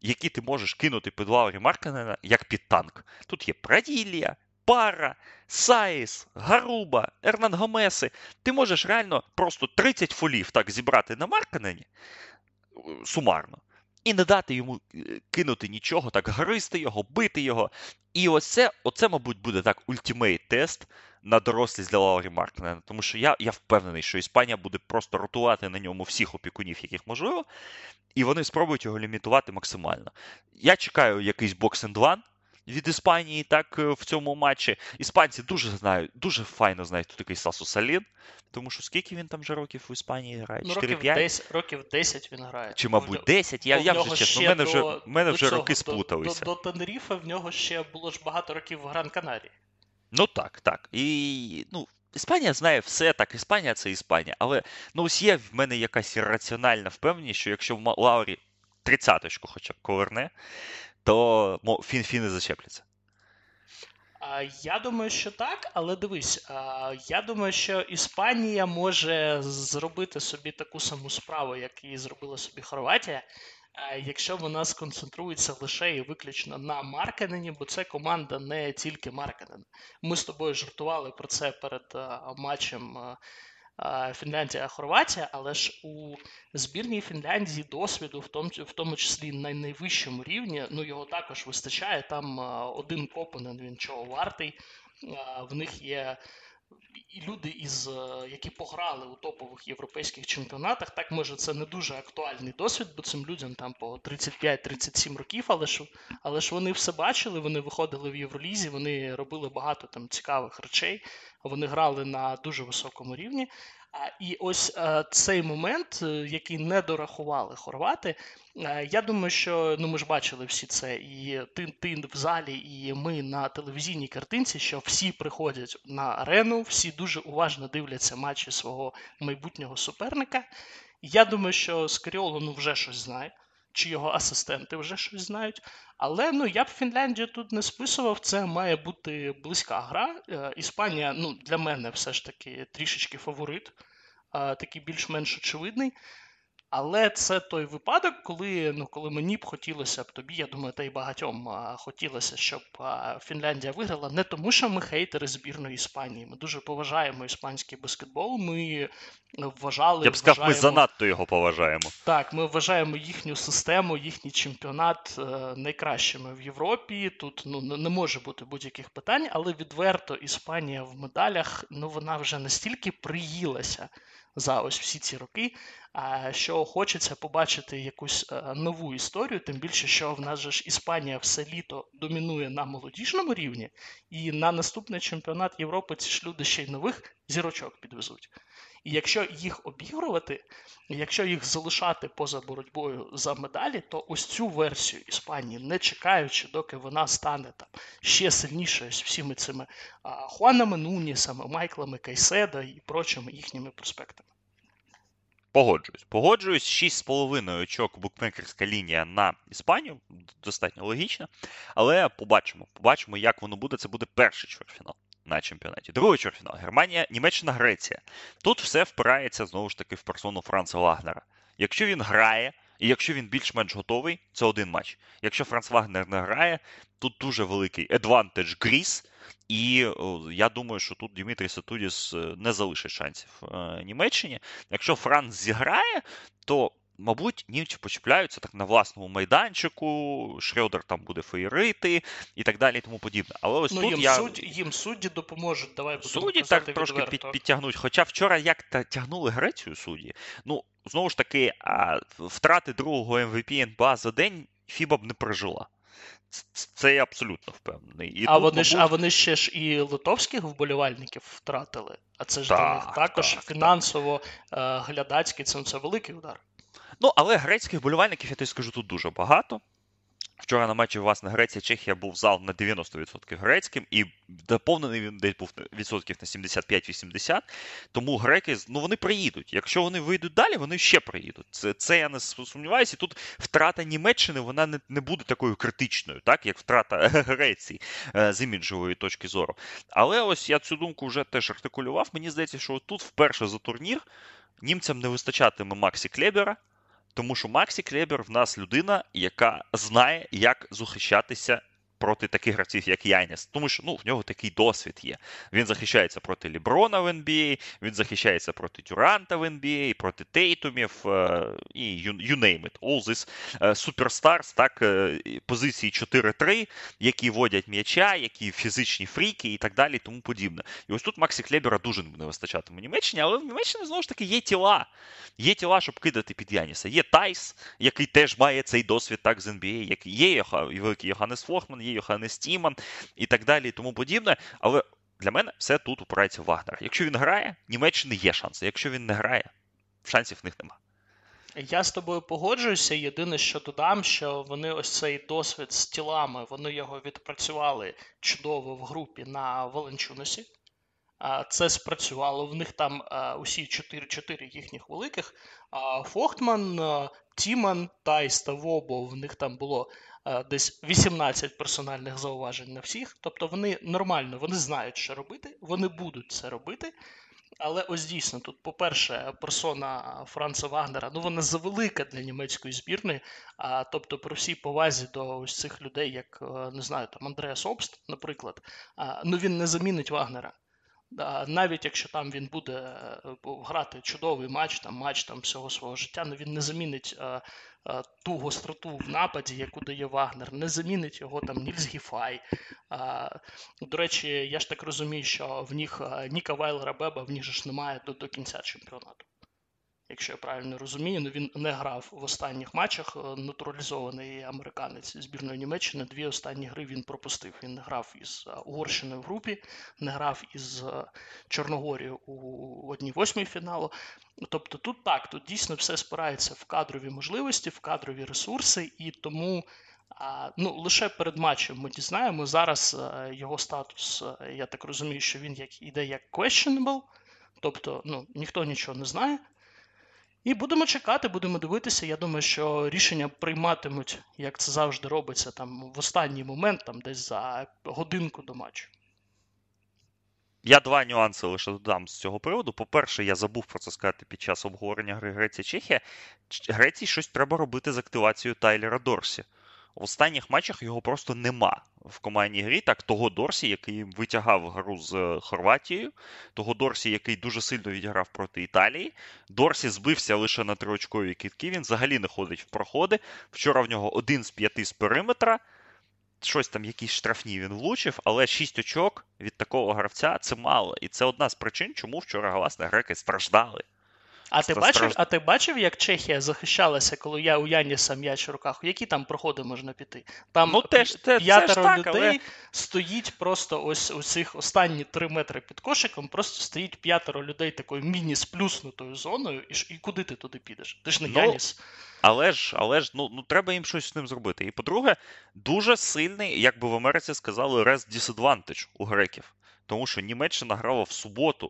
які ти можеш кинути під Лаурі Маркканена, як під танк. Тут є Праділія, Пара, Саїс, Гаруба, Ернан Гомеси. Ти можеш реально просто тридцять фолів так зібрати на Маркканені, сумарно, і не дати йому кинути нічого, так гризти його, бити його. І оце, оце мабуть, буде так ультимейт-тест на дорослість для Лаурі Маркканена. Тому що я, я впевнений, що Іспанія буде просто ротувати на ньому всіх опікунів, яких можливо, і вони спробують його лімітувати максимально. Я чекаю якийсь бокс-енд-ван від Іспанії так в цьому матчі. Іспанці дуже знають, дуже файно знають, хто такий Сасу Салін, тому що скільки він там вже років у Іспанії грає? Ну, чотири років п'ять? десять, років десять він грає. Чи, мабуть, десять? Я, я вже, чесно, в мене вже, в мене вже цього, роки до, сплуталися. До, до Тенеріфе в нього ще було ж багато років в Гран-Канарії. Ну так, так. І, ну, Іспанія знає все, так, Іспанія – це Іспанія. Але, ну, ось є в мене якась раціональна впевненість, що якщо в Лаурі тридцяточку хоча б коверне, то фін-фіни зачепляться. Я думаю, що так, але дивись, я думаю, що Іспанія може зробити собі таку саму справу, як і зробила собі Хорватія, якщо вона сконцентрується лише і виключно на Маркканені, бо це команда не тільки Маркканен. Ми з тобою жартували про це перед матчем Фінляндія-Хорватія, але ж у збірній Фінляндії досвіду, в тому, в тому числі на найвищому рівні, ну його також вистачає. Там один Копанен, він чого вартий. В них є і люди, із, які пограли у топових європейських чемпіонатах. Так, може, це не дуже актуальний досвід, бо цим людям там по тридцять п'ять тридцять сім років, але ж, але ж вони все бачили, вони виходили в Євролізі, вони робили багато там цікавих речей, вони грали на дуже високому рівні. І ось цей момент, який не дорахували хорвати, я думаю, що, ну ми ж бачили всі це, і ти, ти в залі, і ми на телевізійній картинці, що всі приходять на арену, всі дуже уважно дивляться матчі свого майбутнього суперника. Я думаю, що Скаріоло, ну, вже щось знає, чи його асистенти вже щось знають. Але, ну, я б Фінляндію тут не списував, це має бути близька гра. Іспанія, ну, для мене все ж таки трішечки фаворит, такий більш-менш очевидний. Але це той випадок, коли, ну, коли мені б хотілося б тобі, я думаю, та й багатьом а, хотілося, щоб а, Фінляндія виграла. Не тому, що ми хейтери збірної Іспанії. Ми дуже поважаємо іспанський баскетбол. Ми вважали... Я б сказав, вважаємо... ми занадто його поважаємо. Так, ми вважаємо їхню систему, їхній чемпіонат е, найкращими в Європі. Тут, ну, не може бути будь-яких питань, але відверто Іспанія в медалях, ну, вона вже настільки приїлася за ось всі ці роки, що хочеться побачити якусь нову історію, тим більше, що в нас же ж Іспанія все літо домінує на молодіжному рівні, і на наступний чемпіонат Європи ці ж люди ще й нових зірочок підвезуть. І якщо їх обігрувати, якщо їх залишати поза боротьбою за медалі, то ось цю версію Іспанії, не чекаючи, доки вона стане там ще сильнішою з всіми цими а, Хуанами Нунісами, Майклами Кайседо і прочими їхніми проспектами. Погоджуюсь. Погоджуюсь. шість з половиною очок букмекерська лінія на Іспанію. Достатньо логічно. Але побачимо. Побачимо, як воно буде. Це буде перший чвертьфінал на чемпіонаті. Другий чвертьфінал. Германія, Німеччина, Греція. Тут все впирається, знову ж таки, в персону Франца Вагнера. Якщо він грає, і якщо він більш-менш готовий, це один матч. Якщо Франц Вагнер не грає, тут дуже великий advantage Гріс. І о, я думаю, що тут Дімітрій Сатудіс не залишить шансів е, Німеччині. Якщо Франц зіграє, то, мабуть, німці почіпляються так на власному майданчику, Шрёдер там буде феєрити і так далі і тому подібне. Але ось ну, тут їм, я... судді, їм судді допоможуть, давай будемо Судді казати так трошки відверто. під, підтягнуть. Хоча вчора як тягнули Грецію судді, ну, знову ж таки, а, втрати другого ем ві пі ен би ей за день фіба б не пережила. Це я абсолютно впевнений. І а, тут, вони ж, мабуть... а вони ще ж і литовських вболівальників втратили. А це ж так, для них також так, фінансово, так. глядацький, це, це великий удар. Ну, але грецьких вболівальників, я тобі скажу, тут дуже багато. Вчора на матчі, власне, Греція-Чехія був зал на дев'яносто відсотків грецьким, і доповнений він десь був відсотків на сімдесят п'ять вісімдесят. Тому греки, ну, вони приїдуть. Якщо вони вийдуть далі, вони ще приїдуть. Це, це я не сумніваюся. І тут втрата Німеччини, вона не, не буде такою критичною, так, як втрата Греції з іміджової точки зору. Але ось я цю думку вже теж артикулював. Мені здається, що тут вперше за турнір німцям не вистачатиме Максі Клебера, Тому що Максі Клебер в нас людина, яка знає, як захищатися проти таких гравців, як Яніс. Тому що ну, в нього такий досвід є. Він захищається проти Ліброна в ен бі ей, він захищається проти Дюранта в ен бі ей, проти Тейтумів е, і you, you name it. All this суперстарс, так, е, позиції чотири три, які водять м'яча, які фізичні фріки і так далі, і тому подібне. І ось тут Максі Клебера дуже не вистачатиме в Німеччині, але в Німеччині, знову ж таки, є тіла. Є тіла, щоб кидати під Яніса. Є Тайс, який теж має цей досвід так з ен бі ей, як є Йоха, великий Йоханнес Фохман, є Йоханнес Тіман і так далі, і тому подібне. Але для мене все тут упирається в Вагнера. Якщо він грає, Німеччини є шанси. Якщо він не грає, шансів в них нема. Я з тобою погоджуюся. Єдине, що додам, що вони ось цей досвід з тілами, вони його відпрацювали чудово в групі на Валенчунасі. Це спрацювало. В них там усі чотири-чотири їхніх великих. Фохтман, Тіман, Тайс та Вобо, в них там було десь вісімнадцять персональних зауважень на всіх. Тобто вони нормально, вони знають, що робити, вони будуть це робити. Але ось дійсно, тут, по-перше, персона Франца Вагнера, ну вона завелика для німецької збірної, а, тобто при всій повазі до ось цих людей, як, не знаю, там Андреас Обст, наприклад, а, ну він не замінить Вагнера. Навіть якщо там він буде грати чудовий матч, там матч там всього свого життя, ну він не замінить а, а, ту гостроту в нападі, яку дає Вагнер, не замінить його там Нільс Гіфай. А, до речі, я ж так розумію, що в них Ніка Вайлера Беба, в них же ж немає до, до кінця чемпіонату. Якщо я правильно розумію, ну він не грав в останніх матчах, натуралізований американець збірної Німеччини, дві останні гри він пропустив. Він не грав із Угорщиною в групі, не грав із Чорногорією у одній восьмій фіналу. Тобто тут так, тут дійсно все спирається в кадрові можливості, в кадрові ресурси, і тому ну, лише перед матчем ми дізнаємо. Зараз його статус, я так розумію, що він як, іде як questionable, тобто ну, ніхто нічого не знає. І будемо чекати, будемо дивитися. Я думаю, що рішення прийматимуть, як це завжди робиться, там в останній момент, там десь за годинку до матчу. Я два нюанси лише додам з цього приводу. По-перше, я забув про це сказати під час обговорення гри Греція-Чехія. Греції щось треба робити з активацією Тайлера Дорсі. В останніх матчах його просто нема в командній грі. Так, того Дорсі, який витягав гру з Хорватією, того Дорсі, який дуже сильно відіграв проти Італії. Дорсі збився лише на триочкові кидки, він взагалі не ходить в проходи. Вчора в нього один з п'яти з периметра. Щось там, якісь штрафні він влучив, але шість очок від такого гравця – це мало. І це одна з причин, чому вчора, власне, греки страждали. А ти, бачив, а ти бачив, як Чехія захищалася, коли я у Яніса м'яч в руках? Які там проходи можна піти? Там ну, теж, те, п'ятеро це ж так, людей але... стоїть просто ось у цих останні три метри під кошиком, просто стоїть п'ятеро людей такою міні-сплюснутою зоною, і, і куди ти туди підеш? Ти ж не ну, Яніс. Але ж, але ж ну, ну, треба їм щось з ним зробити. І, по-друге, дуже сильний, як би в Америці сказали, rest disadvantage у греків. Тому що Німеччина грала в суботу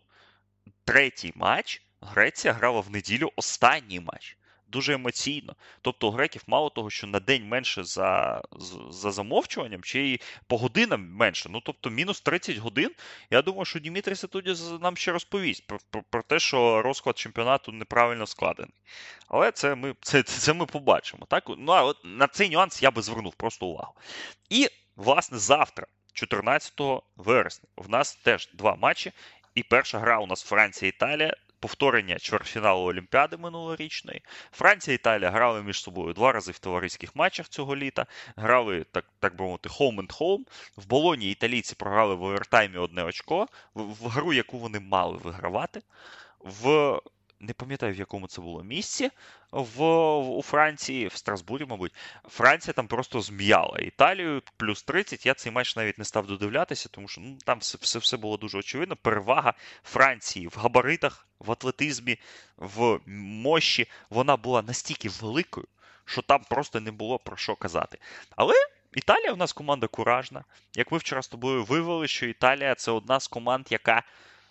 третій матч, Греція грала в неділю останній матч. Дуже емоційно. Тобто у греків мало того, що на день менше за, за замовчуванням, чи й по годинам менше. Ну, тобто мінус тридцять годин. Я думаю, що Дімітрій Сатудіс нам ще розповість про, про, про те, що розклад чемпіонату неправильно складений. Але це ми, це, це ми побачимо. Так? Ну, а от на цей нюанс я би звернув просто увагу. І, власне, завтра, чотирнадцятого вересня, в нас теж два матчі. І перша гра у нас Франція-Італія. Повторення чвертьфіналу Олімпіади минулорічної. Франція і Італія грали між собою два рази в товариських матчах цього літа. Грали, так, так би мовити, home and home. В Болоні італійці програли в овертаймі одне очко. В, в гру, яку вони мали вигравати. В... Не пам'ятаю, в якому це було місці в, у Франції, в Страсбурі, мабуть. Франція там просто зм'яла Італію, плюс тридцять. Я цей матч навіть не став додивлятися, тому що ну, там все, все, все було дуже очевидно. Перевага Франції в габаритах, в атлетизмі, в мощі, вона була настільки великою, що там просто не було про що казати. Але Італія у нас команда куражна. Як ми вчора з тобою вивели, що Італія – це одна з команд, яка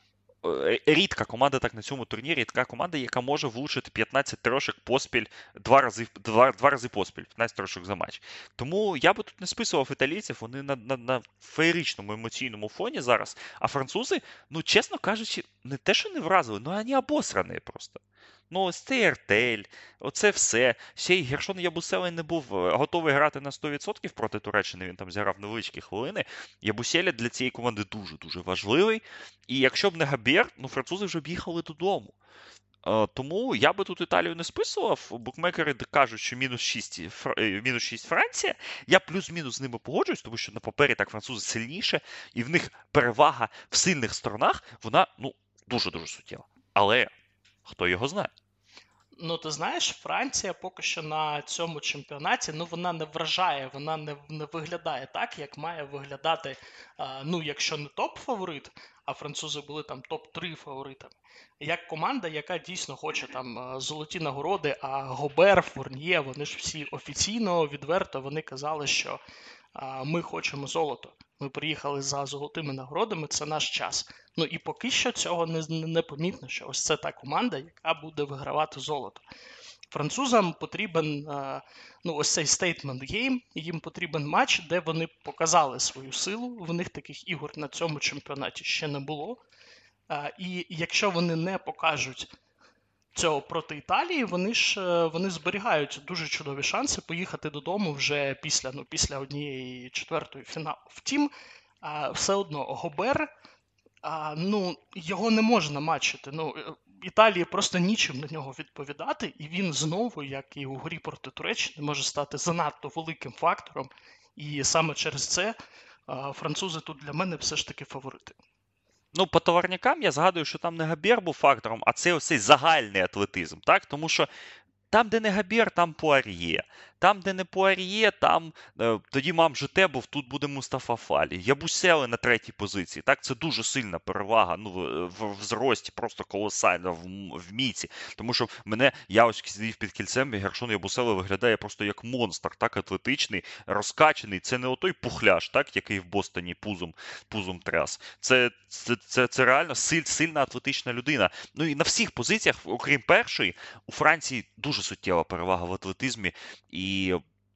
рідка команда так на цьому турнірі, рідка команда, яка може влучити п'ятнадцять трошок поспіль, два рази, два, два рази поспіль, п'ятнадцять трошок за матч. Тому я би тут не списував італійців, вони на, на, на феєричному емоційному фоні зараз, а французи, ну, чесно кажучи, не те, що не вразили, ну, вони обосрані просто. Ну, ось цей ертель, оце все. Ще й Гершон Ябусель не був е, готовий грати на сто відсотків проти Туреччини, він там зіграв невеличкі хвилини. Ябуселя для цієї команди дуже-дуже важливий. І якщо б не Габєр, ну французи вже б їхали додому. Е, Тому я би тут Італію не списував. Букмекери кажуть, що мінус шість, Фр- е, мінус шість Франція. Я плюс-мінус з ними погоджуюсь, тому що на папері так французи сильніше, і в них перевага в сильних сторонах, вона ну дуже-дуже суттєва. Але хто його знає? Ну, ти знаєш, Франція поки що на цьому чемпіонаті, ну, вона не вражає, вона не, не виглядає так, як має виглядати, а, ну, якщо не топ-фаворит, а французи були там топ три фаворитами. Як команда, яка дійсно хоче там а, золоті нагороди, а Гобер, Фурньє, вони ж всі офіційно, відверто, вони казали, що а, ми хочемо золото. Ми приїхали за золотими нагородами, це наш час. Ну і поки що цього не, не помітно, що ось це та команда, яка буде вигравати золото. Французам потрібен е, ну, ось цей statement game, їм потрібен матч, де вони показали свою силу. В них таких ігор на цьому чемпіонаті ще не було. Е, І якщо вони не покажуть цього проти Італії, вони ж е, вони зберігають дуже чудові шанси поїхати додому вже після, ну, після однієї четвертої фіналу. Втім, е, все одно Гобер, а, ну, його не можна матчити. Ну, е, Італії просто нічим на нього відповідати, і він знову, як і у грі проти Туреччини, може стати занадто великим фактором. І саме через це а, французи тут для мене все ж таки фаворити. Ну, по товарнякам я згадую, що там не Габєр був фактором, а це ось цей загальний атлетизм, так? Тому що там, де не Габєр, там Пуар'є. Там, де не Пуар'є, там е, тоді мам жите був, тут буде Мустафа Фалі. Ябусели на третій позиції. Так, це дуже сильна перевага. Ну, в, в, в зрості, просто колосальна, в, м- в міці. Тому що мене, я ось сидів під кільцем, і Гершон Ябусели виглядає просто як монстр, так, атлетичний, розкачаний. Це не отой пухляш, так, який в Бостоні пузом, пузом тряс. Це, це, це, це реально силь, сильна атлетична людина. Ну і на всіх позиціях, окрім першої, у Франції дуже суттєва перевага в атлетизмі, і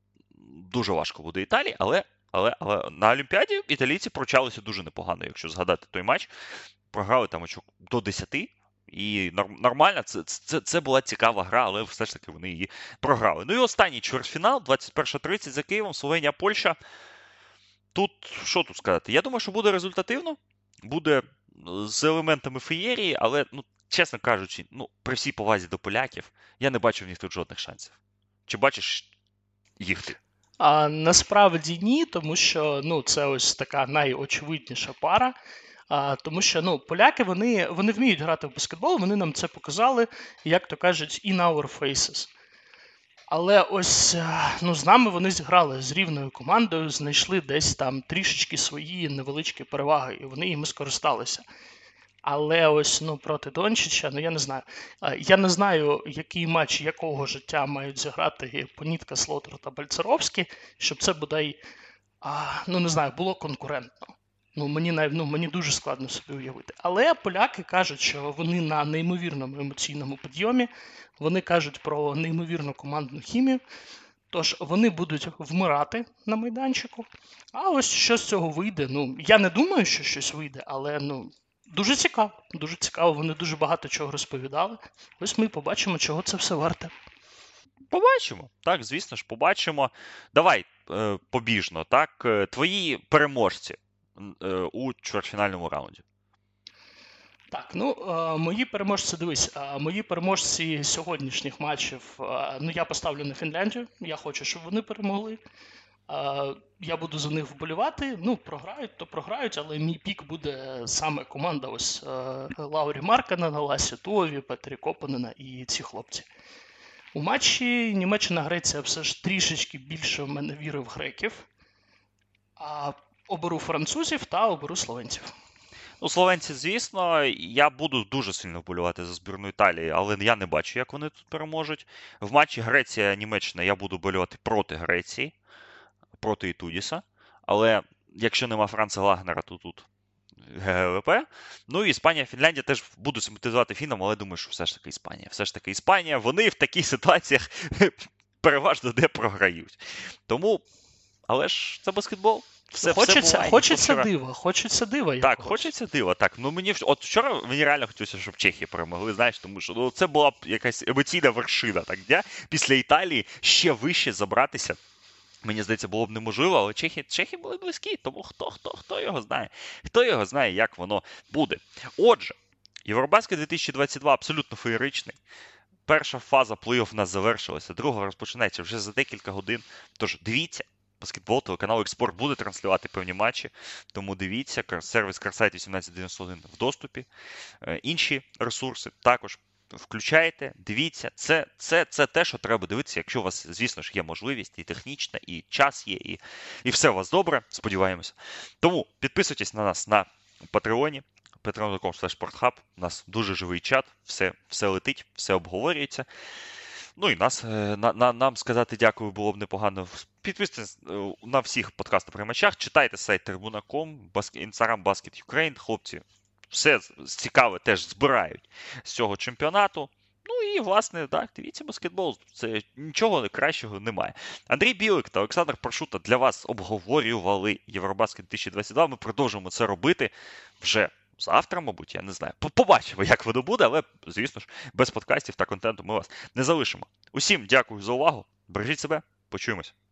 дуже важко буде Італії, але, але, але на Олімпіаді італійці прочалися дуже непогано, якщо згадати той матч. Програли там очок до десяти, і нормально, це, це, це була цікава гра, але все ж таки вони її програли. Ну і останній чвертьфінал, двадцять перша тридцять за Києвом, Словенія, Польща. Тут, що тут сказати? Я думаю, що буде результативно, буде з елементами феєрії, але, ну, чесно кажучи, ну, при всій повазі до поляків, я не бачу в них тут жодних шансів. Чи бачиш їх ти? А насправді ні, тому що ну, це ось така найочевидніша пара. А, тому що ну, поляки вони, вони вміють грати в баскетбол, вони нам це показали, як то кажуть, in our faces. Але ось е, ну, з нами вони зіграли з рівною командою, знайшли десь там трішечки свої невеличкі переваги, і вони їм скористалися. Але ось ну, проти Дончича, ну я не знаю. Е, Я не знаю, який матч якого життя мають зіграти Понітка, Слотер та Бальцеровський, щоб це бодай, а, ну не знаю, було конкурентно. Ну мені, нав- ну, мені дуже складно собі уявити. Але поляки кажуть, що вони на неймовірному емоційному підйомі, вони кажуть про неймовірну командну хімію. Тож вони будуть вмирати на майданчику. А ось що з цього вийде. Ну, я не думаю, що щось вийде, але ну, дуже цікаво. Дуже цікаво, вони дуже багато чого розповідали. Ось ми побачимо, чого це все варте. Побачимо. Так, звісно ж, побачимо. Давай е, побіжно, так, е, твої переможці е, у чвертьфінальному раунді. Так, ну е, мої переможці, дивись, е, мої переможці сьогоднішніх матчів. Е, ну я поставлю на Фінляндію. Я хочу, щоб вони перемогли. Е, я буду за них вболівати. Ну, програють, то програють, але мій пік буде саме команда ось е, Лаурі Марканена, Ласі Туові, Петрі Копанена і ці хлопці. У матчі Німеччина-Греція все ж трішечки більше в мене віри в греків. А оберу французів та оберу словенців. Ну, словенці, звісно, я буду дуже сильно вболівати за збірну Італії, але я не бачу, як вони тут переможуть. В матчі Греція-Німеччина я буду вболівати проти Греції, проти Ітудіса. Але якщо нема Франца Лагнера, то тут ГГВП. Ну і Іспанія, Фінляндія теж буду симпатизувати фінам, але думаю, що все ж таки Іспанія. Все ж таки Іспанія, вони в таких ситуаціях переважно де програють. Тому, але ж це баскетбол. все, хочеться, все буває. хочеться вчора... дива, хочеться дива Так, якогось. хочеться дива. Так, ну мені от вчора мені реально хотілося, щоб Чехія перемогли, знаєш, тому що ну, це була б якась емоційна вершина, так, де після Італії ще вище забратися. Мені здається, було б неможливо, але Чехи, Чехи були близькі, тому хто, хто, хто його знає. Хто його знає, як воно буде. Отже, Євробаскет дві тисячі двадцять два абсолютно феєричний. Перша фаза плей-офф в нас завершилася, друга розпочинається вже за декілька годин. Тож дивіться, баскетбол, телеканал Експорт буде транслювати певні матчі, тому дивіться, сервіс Карсайт вісімнадцять дев'яносто один в доступі. Інші ресурси також включайте, дивіться. Це, це, це те, що треба дивитися, якщо у вас, звісно ж, є можливість і технічна, і час є, і, і все у вас добре, сподіваємося. Тому підписуйтесь на нас на Патреоні. патреон крапка ком слеш спортхаб. У нас дуже живий чат, все, все летить, все обговорюється. Ну і нас, на, на, нам сказати дякую було б непогано. Підписуйтесь на всіх подкастоприймачах, читайте сайт трибуна крапка ком, Instagram Basket Ukraine, хлопці все цікаве теж збирають з цього чемпіонату. Ну і, власне, так, дивіться баскетбол, це нічого кращого немає. Андрій Білик та Олександр Паршута для вас обговорювали Євробаскет дві тисячі двадцять два, ми продовжуємо це робити вже завтра, мабуть, я не знаю. Побачимо, як воно буде, але, звісно ж, без подкастів та контенту ми вас не залишимо. Усім дякую за увагу, бережіть себе, почуємось.